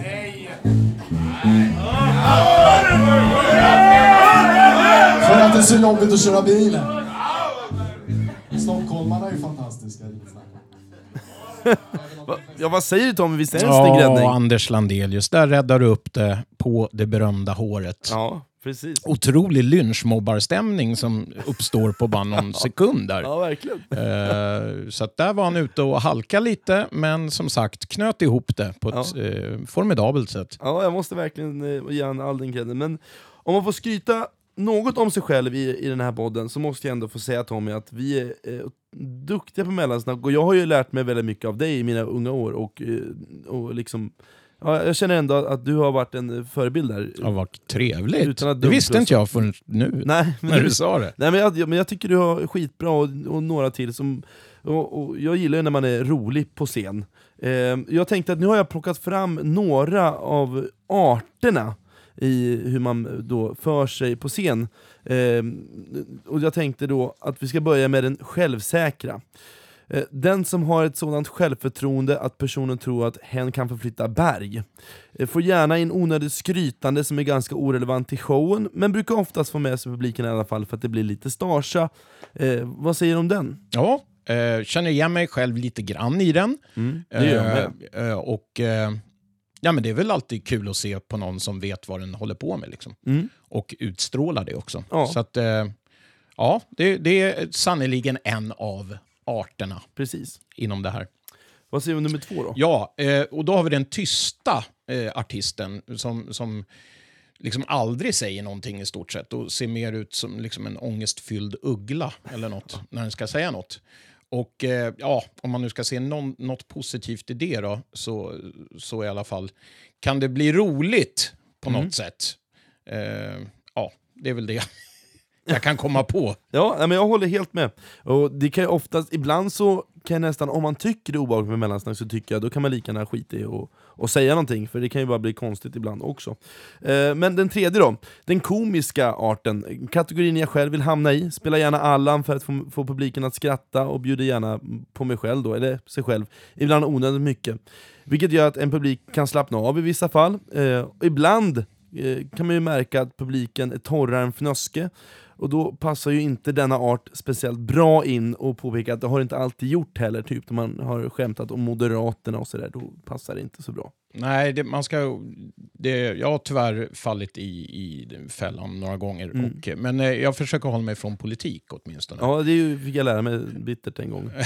För att det är så jobbigt att köra bilen. Stockholmarna är ju fantastiska. Ja, vad säger du, Tommy? Visst är det en ja, snygg räddning? Anders Landelius, där räddar du upp det på det berömda håret. Ja, precis. Otrolig lynchmobbarstämning som uppstår på bara någon sekund där. Ja, verkligen. Uh, så att där var han ute och halka lite, men som sagt, knöt ihop det på ett ja. uh, formidabelt sätt. Ja, jag måste verkligen uh, ge han all den credden. Men om man får skryta något om sig själv i, i den här podden så måste jag ändå få säga, Tommy, att vi är eh, duktiga på mellansnack, och jag har ju lärt mig väldigt mycket av dig i mina unga år, och, och liksom ja, jag känner ändå att du har varit en förebild där. Ja, vad trevligt. Det visste inte jag förrän nu, nej, men när du, du sa det. Nej, men jag, men jag tycker du har skitbra, och, och några till som och, och jag gillar ju när man är rolig på scen. Eh, jag tänkte att nu har jag plockat fram några av arterna i hur man då för sig på scen. Eh, och jag tänkte då att vi ska börja med den självsäkra. Eh, den som har ett sådant självförtroende att personen tror att hen kan förflytta berg. Eh, får gärna en onödigt skrytande som är ganska orelevant till showen, men brukar oftast få med sig publiken i alla fall för att det blir lite starsa. Eh, vad säger du om den? Ja, eh, känner igen mig själv lite grann i den. Mm, det gör jag. Eh, och... Eh, Ja, men det är väl alltid kul att se på någon som vet vad den håller på med. Liksom. Mm. Och utstrålar det också. Ja. Så att, eh, ja, det, det är sannoliken en av arterna. Precis. Inom det här. Vad säger vi om nummer två då? Ja, eh, och då har vi den tysta eh, artisten som, som liksom aldrig säger någonting i stort sett. Och ser mer ut som liksom en ångestfylld uggla eller något när den ska säga något. Och eh, ja, om man nu ska se någon, något positivt i det då, så, så i alla fall kan det bli roligt på mm. något sätt. Eh, ja, det är väl det jag kan komma på. Ja, men jag håller helt med. Och det kan ju oftast, ibland så kan jag nästan, om man tycker det är obehagligt med mellansnack, så tycker jag då kan man lika gärna skita i och, och säga någonting, för det kan ju bara bli konstigt ibland också. Eh, men den tredje då, den komiska arten, kategorin jag själv vill hamna i, spelar gärna Allan för att få, få publiken att skratta, och bjuder gärna på mig själv då, eller sig själv, ibland onödigt mycket. Vilket gör att en publik kan slappna av i vissa fall. Eh, och ibland eh, kan man ju märka att publiken är torrare än fnöske. Och då passar ju inte denna art speciellt bra in, och påpeka att det har inte alltid gjort heller. Typ när man har skämtat om Moderaterna och sådär, då passar det inte så bra. Nej, det, man ska, det, jag har tyvärr fallit i, i fällan några gånger. Mm. Och, men eh, jag försöker hålla mig från politik åtminstone. Ja, det är ju, fick jag lära mig bittert en gång.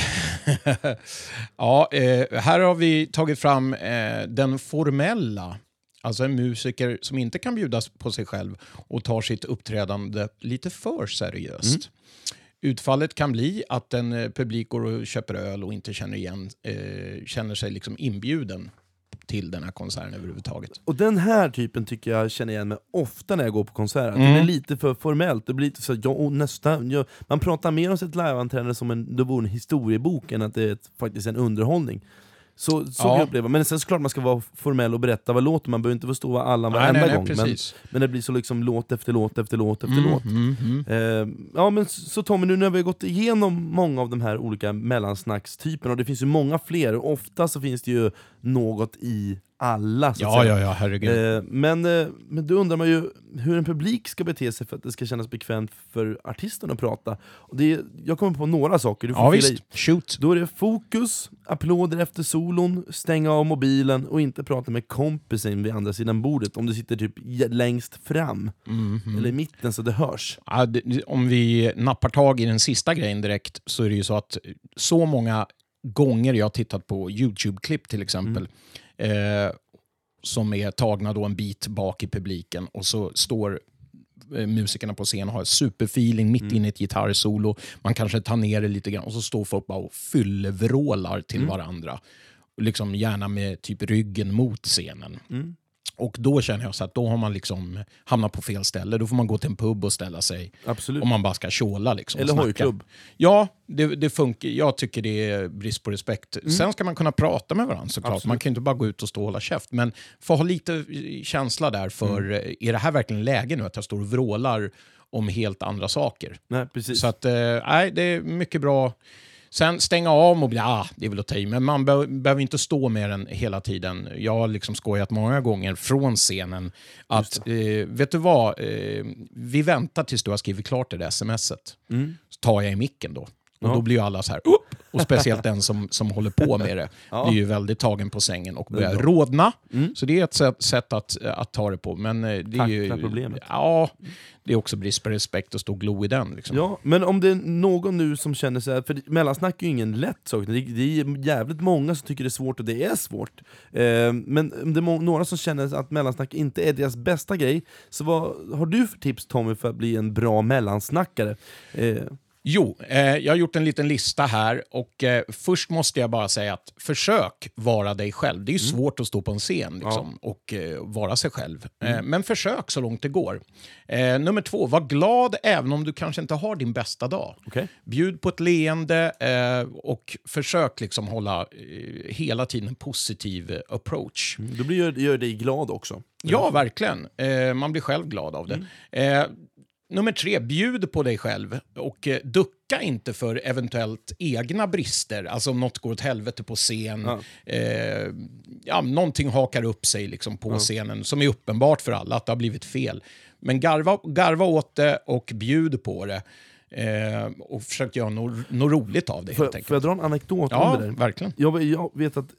Ja, eh, här har vi tagit fram eh, den formella. Alltså en musiker som inte kan bjudas på sig själv och tar sitt uppträdande lite för seriöst. Mm. Utfallet kan bli att en eh, publik går och köper öl och inte känner igen, eh, känner sig liksom inbjuden till den här konserten överhuvudtaget. Och den här typen tycker jag känner igen mig ofta när jag går på konserter. Mm. Det blir lite för formellt. Det blir lite så, ja, och nästan, ja, man pratar mer om sitt liveanträdande som en, det vore en historiebok än att det är ett, faktiskt en underhållning. Så, så ja. kan jag uppleva. Men sen såklart man ska vara formell och berätta vad låter. Man behöver inte förstå vad alla varenda nej, nej, gång. Men, men det blir så liksom låt efter låt efter låt efter mm, låt. Mm, mm. Eh, ja men så Tommy, nu när vi har gått igenom många av de här olika mellansnackstyperna, och det finns ju många fler, och ofta så finns det ju något i alla, så att Ja, säga. ja, ja, herregud. Eh, men, eh, men då undrar man ju hur en publik ska bete sig för att det ska kännas bekvämt för artisten att prata. Och det är, jag kommer på några saker. Du får Ja, fylla visst. i. Shoot. Då är det fokus, applåder efter solon, stänga av mobilen och inte prata med kompisen vid andra sidan bordet om du sitter typ längst fram. Mm-hmm. Eller i mitten så det hörs. Ja, det, om vi nappar tag i den sista grejen direkt, så är det ju så att så många gånger jag har tittat på YouTube-klipp till exempel, mm. eh, som är tagna då en bit bak i publiken, och så står eh, musikerna på scen och har superfeeling mitt mm. inne i ett gitarrsolo. Man kanske tar ner det lite grann, och så står folk bara och fyllevrålar till mm. varandra. Liksom gärna med typ ryggen mot scenen. Mm. Och då känner jag så att då har man liksom hamnat på fel ställe. Då får man gå till en pub och ställa sig. Absolut. Om man bara ska tjåla liksom. Eller hojklubb. Ja, det, det funkar. Jag tycker det är brist på respekt. Mm. Sen ska man kunna prata med varandra såklart. Absolut. Man kan inte bara gå ut och stå och hålla käft. Men få ha lite känsla där för, mm. är det här verkligen läge nu att jag står och vrålar om helt andra saker? Nej, precis. Så att, nej, det är mycket bra. Sen stänga av mobilen, ah, det är väl att ta i, men man be- behöver inte stå med den hela tiden. Jag har liksom skojat många gånger från scenen att, eh, vet du vad, eh, vi väntar tills du har skrivit klart det där smset. Mm. Så tar jag i micken då. Och ja. Då blir ju alla så här, upp! Och speciellt den som, som håller på med det ja. Blir ju väldigt tagen på sängen och börjar rådna. Mm. Så det är ett sätt, sätt att, att ta det på. Men det är Tackla ju... problemet. Ja, det är också brist på respekt att stå och glo i den. Liksom. Ja, men om det är någon nu som känner sig, för mellansnack är ju ingen lätt sak. Det är jävligt många som tycker det är svårt, och det är svårt. Eh, men om det är må- några som känner att mellansnack inte är deras bästa grej, så vad har du för tips, Tommy, för att bli en bra mellansnackare? Eh, Jo, eh, jag har gjort en liten lista här, och eh, först måste jag bara säga att försök vara dig själv. Det är ju mm. svårt att stå på en scen liksom, ja. och eh, vara sig själv. Mm. Eh, men försök så långt det går. Eh, nummer två, var glad även om du kanske inte har din bästa dag. Okay. Bjud på ett leende eh, och försök liksom hålla eh, hela tiden en positiv eh, approach. Mm. Då blir, gör dig glad också. Ja, verkligen. Eh, man blir själv glad av det. Mm. Eh, Nummer tre, bjud på dig själv och eh, ducka inte för eventuellt egna brister. Alltså om något går åt helvete på scen, ja. Eh, ja, någonting hakar upp sig liksom på ja. scenen som är uppenbart för alla att det har blivit fel. Men garva, garva åt det och bjud på det. Eh, och försök göra något no roligt av det, helt enkelt. Får jag dra en anekdot ja, om det där? Verkligen. Jag, jag vet att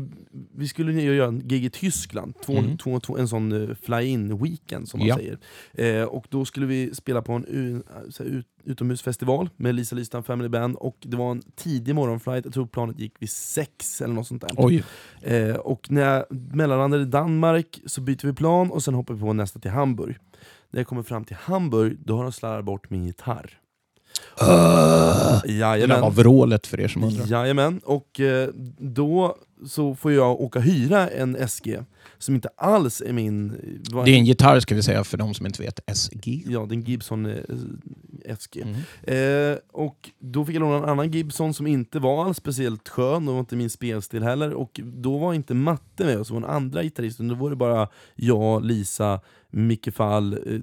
vi skulle göra en gig i Tyskland, två, mm. två, två, en sån uh, fly-in weekend som man ja. säger. Eh, och då skulle vi spela på en uh, så här, ut, utomhusfestival med Lisa Listan Family Band, och det var en tidig morgonflight. Jag tror planet gick vid sex eller något sånt där. Oj. Eh, och när jag mellanlandade i Danmark så byter vi plan och sen hoppar vi på nästa till Hamburg. När jag kommer fram till Hamburg, då har de slarvat bort min gitarr. Uh, det var vrålet för er som undrar. Jajamän, och eh, då så får jag åka hyra en S G som inte alls är min... Det är en gitarr, ska vi säga, för de som inte vet. S G. Ja, det är en Gibson eh, S G. Mm. Eh, och då fick jag låna en annan Gibson som inte var alls speciellt skön, och var inte min spelstil heller. Och då var inte Matte med, och så var den andra gitarristen. Då var det bara jag, Lisa, Micke Fall, eh,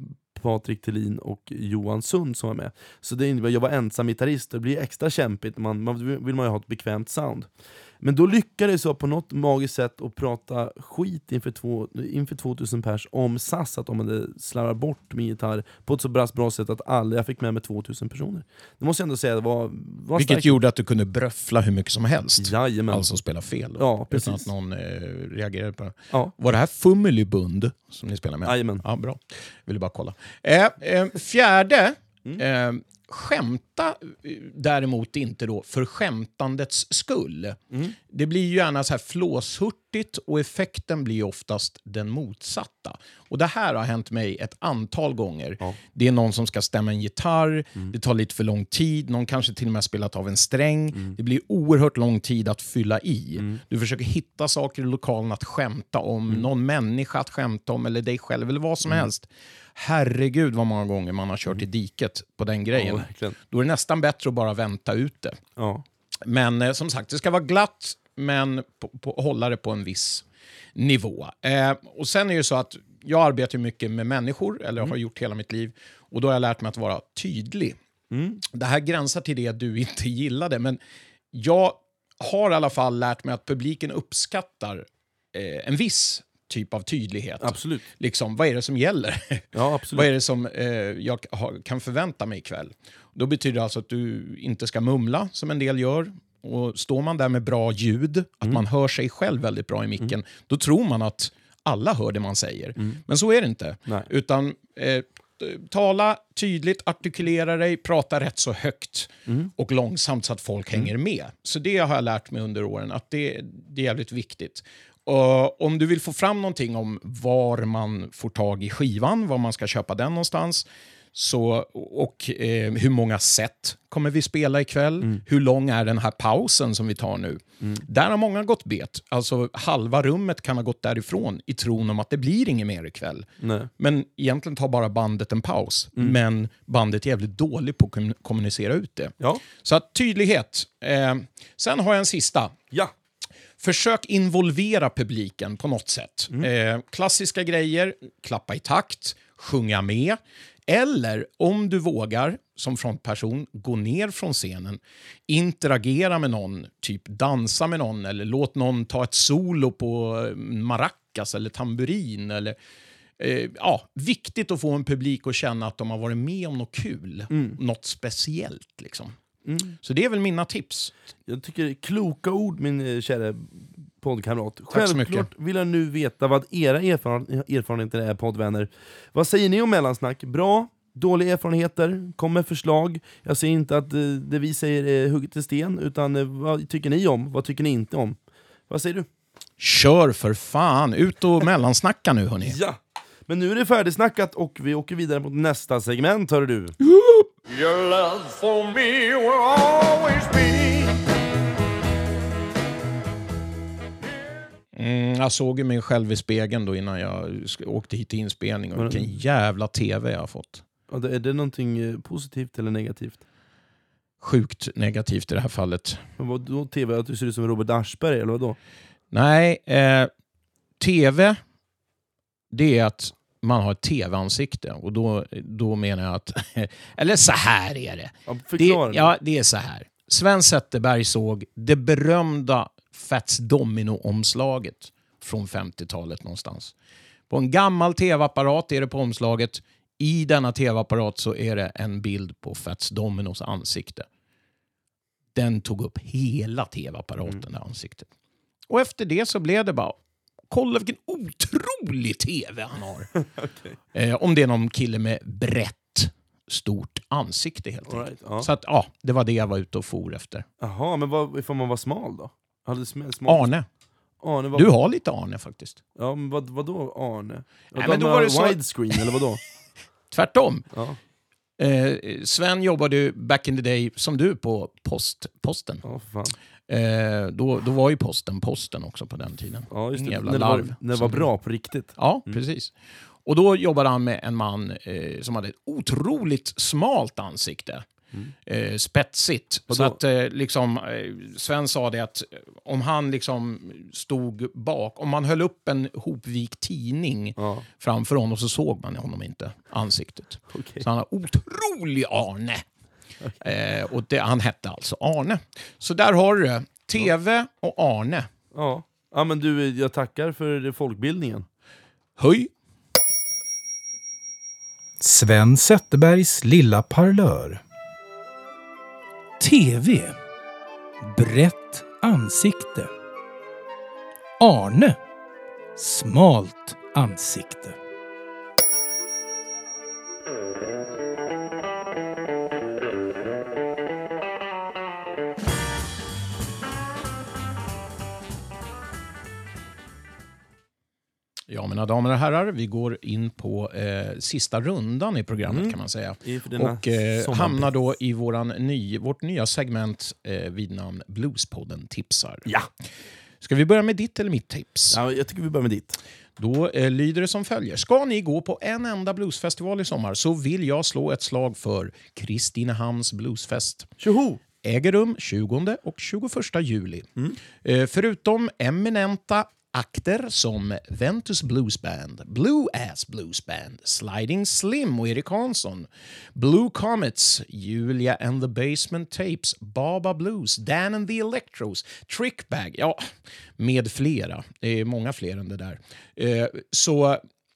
Patrik Thelin och Johan Sund som var med. Så det innebär, jag var ensam gitarrist. Det blir extra kämpigt. Man, man vill man ju ha ett bekvämt sound. Men då lyckades jag på något magiskt sätt att prata skit inför, två, inför tvåtusen pers om S A S, att de hade slarvat bort min gitarr på ett så bra, bra sätt att alla, jag fick med mig tvåtusen personer. Det måste jag ändå säga, det var, var Vilket starkt. gjorde att du kunde bröffla hur mycket som helst. Jajamän. Alltså spela fel. Ja, precis. Utan att någon eh, reagerade på det. Ja. Var det här Fummelybund som ni spelar med? Jajamän. Ja, bra. Ville bara kolla. Eh, eh, fjärde. Mm. Eh, skämta eh, däremot inte då för skämtandets skull. Mm. Det blir ju gärna så här flåshurtigt och effekten blir oftast den motsatta. Och det här har hänt mig ett antal gånger. Ja. Det är någon som ska stämma en gitarr, Mm. det tar lite för lång tid, någon kanske till och med spelat av en sträng. Mm. Det blir oerhört lång tid att fylla i. Mm. Du försöker hitta saker i lokalen att skämta om, Mm. någon människa att skämta om eller dig själv eller vad som Mm. helst. Herregud vad många gånger man har kört i diket på den grejen. Ja, verkligen. Då är det nästan bättre att bara vänta ut det. Ja. Men eh, som sagt, det ska vara glatt, men på, på, hålla det på en viss nivå. Eh, och sen är det ju så att jag arbetar mycket med människor, eller har gjort hela mitt liv. Och då har jag lärt mig att vara tydlig. Mm. Det här gränsar till det du inte gillade, men jag har i alla fall lärt mig att publiken uppskattar eh, en viss typ av tydlighet. Absolut. Liksom, vad är det som gäller? Ja, absolut. Vad är det som eh, jag har, kan förvänta mig ikväll? Då betyder det alltså att du inte ska mumla som en del gör. Och står man där med bra ljud, att Mm. man hör sig själv väldigt bra i micken, mm. då tror man att alla hör det man säger. Mm. Men så är det inte. Nej. Utan eh, tala tydligt, artikulera dig, prata rätt så högt Mm. och långsamt så att folk Mm. hänger med. Så det har jag lärt mig under åren, att det, det är jävligt viktigt. Och om du vill få fram någonting om var man får tag i skivan, var man ska köpa den någonstans, så, och eh, hur många set kommer vi spela ikväll, Mm. hur lång är den här pausen som vi tar nu. Mm. Där har många gått bet. Alltså halva rummet kan ha gått därifrån i tron om att det blir inget mer ikväll. Nej. Men egentligen tar bara bandet en paus. Mm. Men bandet är jävligt dåligt på att kom- kommunicera ut det. Ja. Så att tydlighet. Eh, sen har jag en sista. Ja. Försök involvera publiken på något sätt. Mm. Eh, klassiska grejer, klappa i takt, sjunga med. Eller om du vågar som frontperson gå ner från scenen, interagera med någon, typ dansa med någon eller låt någon ta ett solo på maracas eller tamburin. Eller, eh, ja, viktigt att få en publik att känna att de har varit med om något kul, Mm. något speciellt liksom. Mm. Så det är väl mina tips. Jag tycker kloka ord, min eh, kära poddkamrat. Tack så Självklart mycket. vill jag nu veta vad era erfaren- erfarenheter är, poddvänner. Vad säger ni om mellansnack? Bra? Dåliga erfarenheter? Kom med förslag. Jag säger inte att eh, det vi säger är hugget i sten, utan eh, vad tycker ni om? Vad tycker ni inte om? Vad säger du? Kör för fan, ut och mellansnacka nu hörni. Ja! Men nu är det färdigsnackat och vi åker vidare mot nästa segment, hör du. Your love for me will always be. Mm, jag såg ju mig själv i spegeln då innan jag sk- åkte hit till inspelning. Och vilken jävla tv jag har fått. Ja, det- är det någonting eh, positivt eller negativt? Sjukt negativt i det här fallet. Men vad då tv? Att du ser ut som Robert Aschberg eller vad då? Nej, eh, tv, det är att man har ett tv-ansikte. Och då, då menar jag att... eller så här är det. Ja, det förklara. ja, det är så här. Sven Zetterberg såg det berömda Fats Domino-omslaget från femtiotalet någonstans. På en gammal tv-apparat är det på omslaget. I denna tv-apparat så är det en bild på Fats Dominos ansikte. Den tog upp hela tv-apparaten, Mm. det ansiktet. Och efter det så blev det bara, kolla vilken otrolig tv han har. Okej. eh, om det är någon kille med brett, stort ansikte helt All enkelt. right, ja. Så att, ja, det var det jag var ute och for efter. Jaha, men vad, ifall man var smal då? Hade sm- smal... Arne. Arne var... Du har lite Arne faktiskt. Ja, men vad, vad då Arne? Nej, men då var det så- widescreen eller vad då? Tvärtom. Ja, Eh, Sven jobbade ju back in the day som du på post, posten. ja för fan. Eh, då, då var ju posten posten också på den tiden. Ja, just Ingen det. jävla När det var, larv. när det var Som- bra på riktigt. Ja, Mm. precis. Och då jobbade han med en man eh, som hade ett otroligt smalt ansikte. Mm. Eh, spetsigt. Så att eh, liksom, eh, Sven sa det att om han liksom stod bak, om man höll upp en hopvikt tidning ja. framför honom så såg man honom inte ansiktet. Okay. Så han har otrolig Arne. Okay. Eh, och det, han hette alltså Arne. Så där har du det. T V och Arne. Ja. Ja, men du, jag tackar för folkbildningen. Höj. Sven Zetterbergs lilla parlör. T V. Brett ansikte. Arne. Smalt ansikte. Ja, mina damer och herrar, vi går in på eh, sista rundan i programmet mm. kan man säga. Och eh, hamnar då i våran ny, vårt nya segment eh, vid namn Bluespodden tipsar. Ja. Ska vi börja med ditt eller mitt tips? Ja, jag tycker vi börjar med ditt. Då eh, lyder det som följer. Ska ni gå på en enda bluesfestival i sommar så vill jag slå ett slag för Kristinehamns bluesfest. Tjoho! Äger rum tjugonde och tjugoförsta juli. Mm. Eh, förutom eminenta akter som Ventus Blues Band, Blue Ass Blues Band, Sliding Slim och Erik Hansson, Blue Comets, Julia and the Basement Tapes, Baba Blues, Dan and the Electros, Trickbag, ja, med flera. Det är många fler än det där. Eh, så...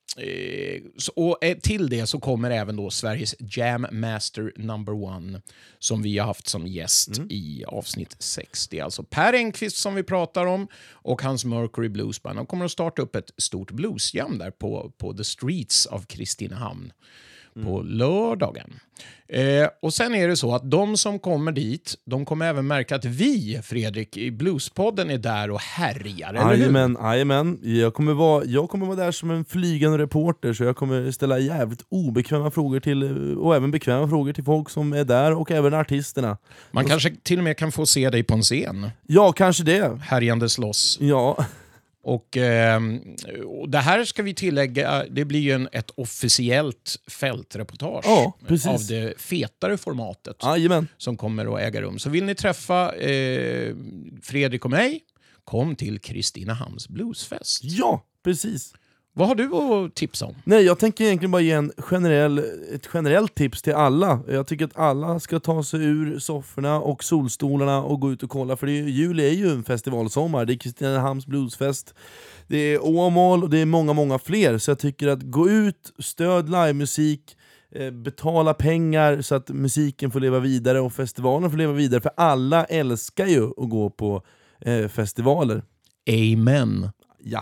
Så, och till det så kommer även då Sveriges Jam Master number one som vi har haft som gäst mm. i avsnitt sextio. Alltså Per Engqvist som vi pratar om och hans Mercury Blues Band. De kommer att starta upp ett stort bluesjam där på, på The Streets of Kristinehamn mm. på lördagen. Eh, och sen är det så att de som kommer dit, de kommer även märka att vi, Fredrik, i Bluespodden är där och härjar, eller hur? Jajamän, jajamän. Jag kommer vara, jag kommer vara där som en flygande reporter, så jag kommer ställa jävligt obekväma frågor till, och även bekväma frågor till folk som är där och även artisterna. Man och, kanske till och med kan få se dig på en scen. Ja, kanske det. Härjandes loss. Ja. Och, eh, och det här ska vi tillägga, det blir ju en, ett officiellt fältreportage ja, av det fetare formatet Jajamän. som kommer att äga rum. Så vill ni träffa eh, Fredrik och mig, kom till Kristinehamns Bluesfest. Ja, precis. Vad har du att tipsa om? Nej, jag tänker egentligen bara ge en generell, ett generellt tips till alla. Jag tycker att alla ska ta sig ur sofforna och solstolarna och gå ut och kolla. För det är, juli är ju en festivalsommar. Det är Kristinehamns Bluesfest. Det är Åmål och det är många, många fler. Så jag tycker att gå ut, stöd livemusik, betala pengar så att musiken får leva vidare och festivalen får leva vidare. För alla älskar ju att gå på eh, festivaler. Amen. Ja.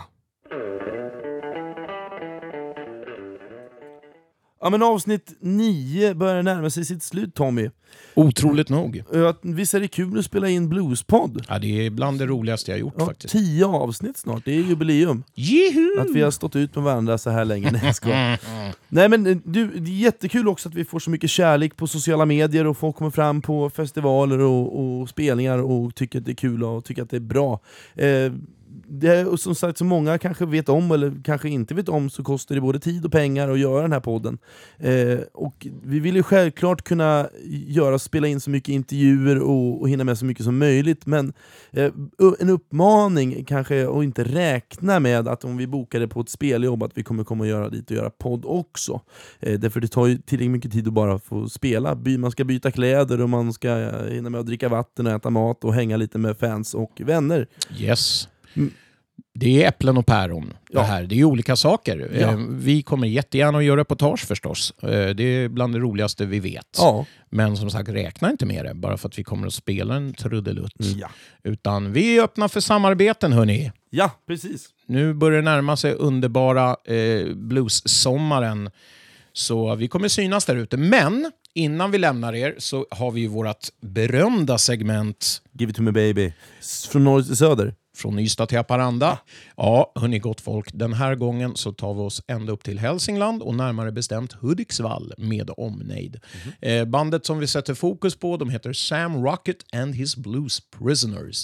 Ja, men avsnitt nio börjar närma sig sitt slut, Tommy. Otroligt nog. Visst är det kul att spela in Bluespodd? Ja, det är bland det roligaste jag gjort ja, faktiskt. Tio avsnitt snart, det är jubileum. Juhu! Att vi har stått ut med varandra så här länge. Nej, ska. Nej, men du, det är jättekul också att vi får så mycket kärlek på sociala medier och folk kommer fram på festivaler och, och spelningar och tycker att det är kul och tycker att det är bra. Eh, Det är, som sagt, så många kanske vet om eller kanske inte vet om, så kostar det både tid och pengar att göra den här podden. Eh, och vi vill ju självklart kunna göra, spela in så mycket intervjuer och, och hinna med så mycket som möjligt, men eh, en uppmaning kanske att inte räkna med att om vi bokar det på ett speljobb att vi kommer komma och göra dit och göra podd också. Eh, därför det tar ju tillräckligt mycket tid att bara få spela. By, man ska byta kläder och man ska hinna med att dricka vatten och äta mat och hänga lite med fans och vänner. Yes. Mm. Det är äpplen och päron. Ja. Det här. Det är olika saker. Ja. Vi kommer jättegärna att göra reportage förstås. Det är bland det roligaste vi vet. Ja. Men som sagt, räkna inte med det bara för att vi kommer att spela en trudelutt. Mm, ja. Utan vi är öppna för samarbeten, hörni. Ja, precis. Nu börjar det närma sig underbara eh, blues-sommaren. Så vi kommer synas där ute. Men innan vi lämnar er så har vi ju vårt berömda segment Give it to me baby. Från norr till söder. Från Ystad till Haparanda. Ja, hörni gott folk. Den här gången så tar vi oss ända upp till Hälsingland och närmare bestämt Hudiksvall med omnejd. Mm-hmm. Eh, bandet som vi sätter fokus på, de heter Sam Rocket and his Blues Prisoners.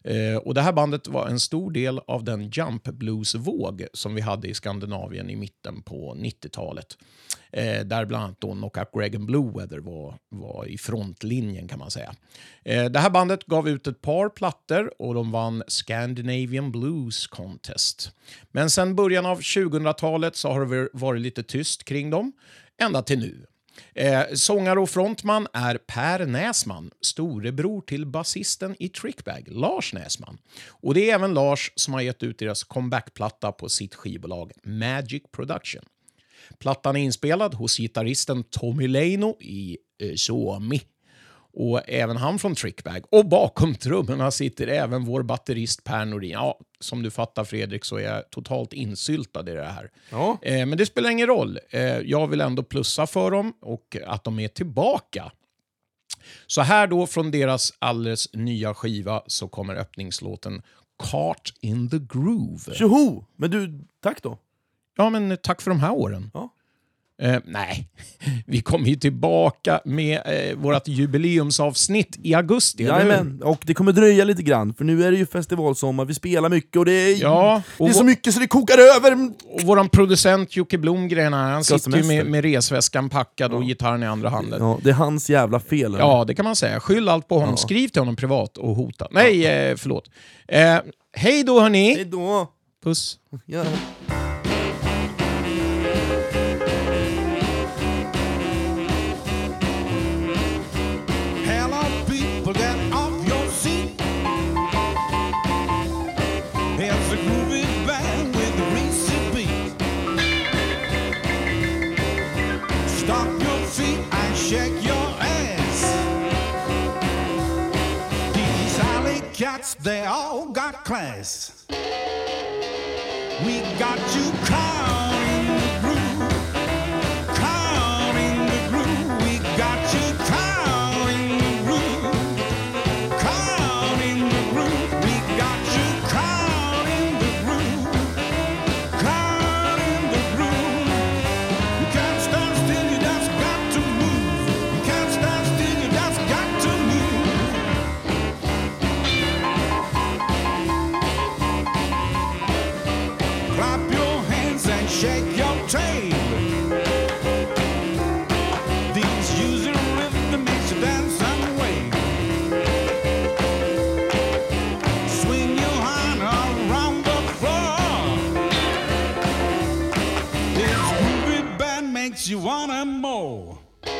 Eh, och det här bandet var en stor del av den jump blues-våg som vi hade i Skandinavien i mitten på nittiotalet. Eh, där bland annat då Knockout Greg and Blue Weather var, var i frontlinjen kan man säga. Eh, det här bandet gav ut ett par plattor och de vann Scandinavian Blues Contest. Men sen början av tjugohundratalet så har det varit lite tyst kring dem, ända till nu. Eh, sångare och frontman är Per Näsman, storebror till basisten i Trickbag, Lars Näsman. Och det är även Lars som har gett ut deras comebackplatta på sitt skivbolag Magic Production. Plattan är inspelad hos gitarristen Tommy Leino i eh, Suomi. Och även han från Trickbag. Och bakom trummorna sitter även vår batterist Per Norin. Ja, som du fattar Fredrik så är jag totalt insyltad i det här. Ja. Eh, men det spelar ingen roll. Eh, jag vill ändå plussa för dem och att de är tillbaka. Så här då från deras alldeles nya skiva så kommer öppningslåten Caught in the Groove. Tjoho! Men du, tack då. Ja, men tack för de här åren. Ja. Eh, nej, vi kommer ju tillbaka med eh, vårt jubileumsavsnitt i augusti. Jajamän, och det kommer dröja lite grann, för nu är det ju festivalsommar, vi spelar mycket och det är, Ja, och det är så vår- mycket så det kokar över. Och våran producent Jocke Blomgren här, han Ska sitter ju semester. med, med resväskan packad och gitarren i andra handen. Ja, det är hans jävla fel. eller? Ja, det kan man säga. Skyll allt på honom. Ja. Skriv till honom privat och hota. Nej, eh, förlåt. Eh, hej då hörni. Hej då. Puss. Ja. Hello, people, get off your seat. There's a groovy band with a greasy beat. Stop your feet and shake your ass. These alley cats, they all got class. We got you caught in the groove. Caught in the groove. We got you caught in the groove. Caught in the groove. We got you caught in the groove. Caught in the groove. You can't stand still, you just got to move. You can't stand still, you just got to move. Clap your hands and shake your tail. These usual rhythm makes you dance and wave. Swing your hand around the floor. This groovy band makes you wanna more.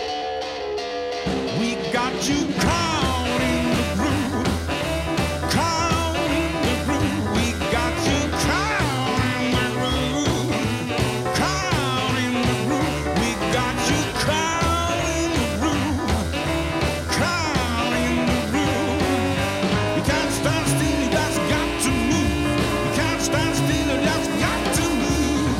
We got you caught in the groove. Caught in the groove. We got you caught in the groove. Caught in the groove. We got you caught in the groove. Caught in the groove. You can't stand still, you just got to move. You can't stand still, you just got to move.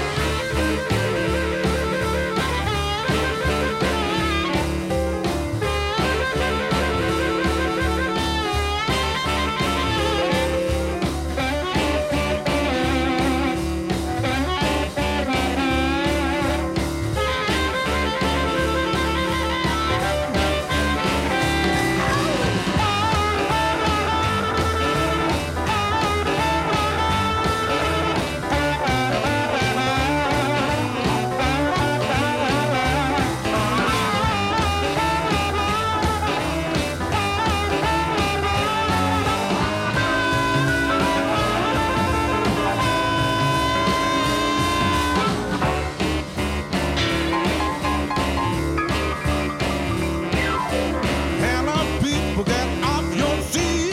Hello, people, get off your seat.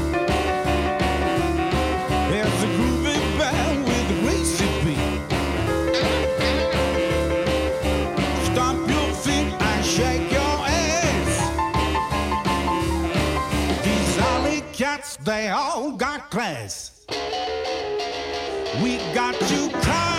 There's a groovy band with a greasy beat. Stomp your feet and shake your ass. These alley cats, they all got class. We got you caught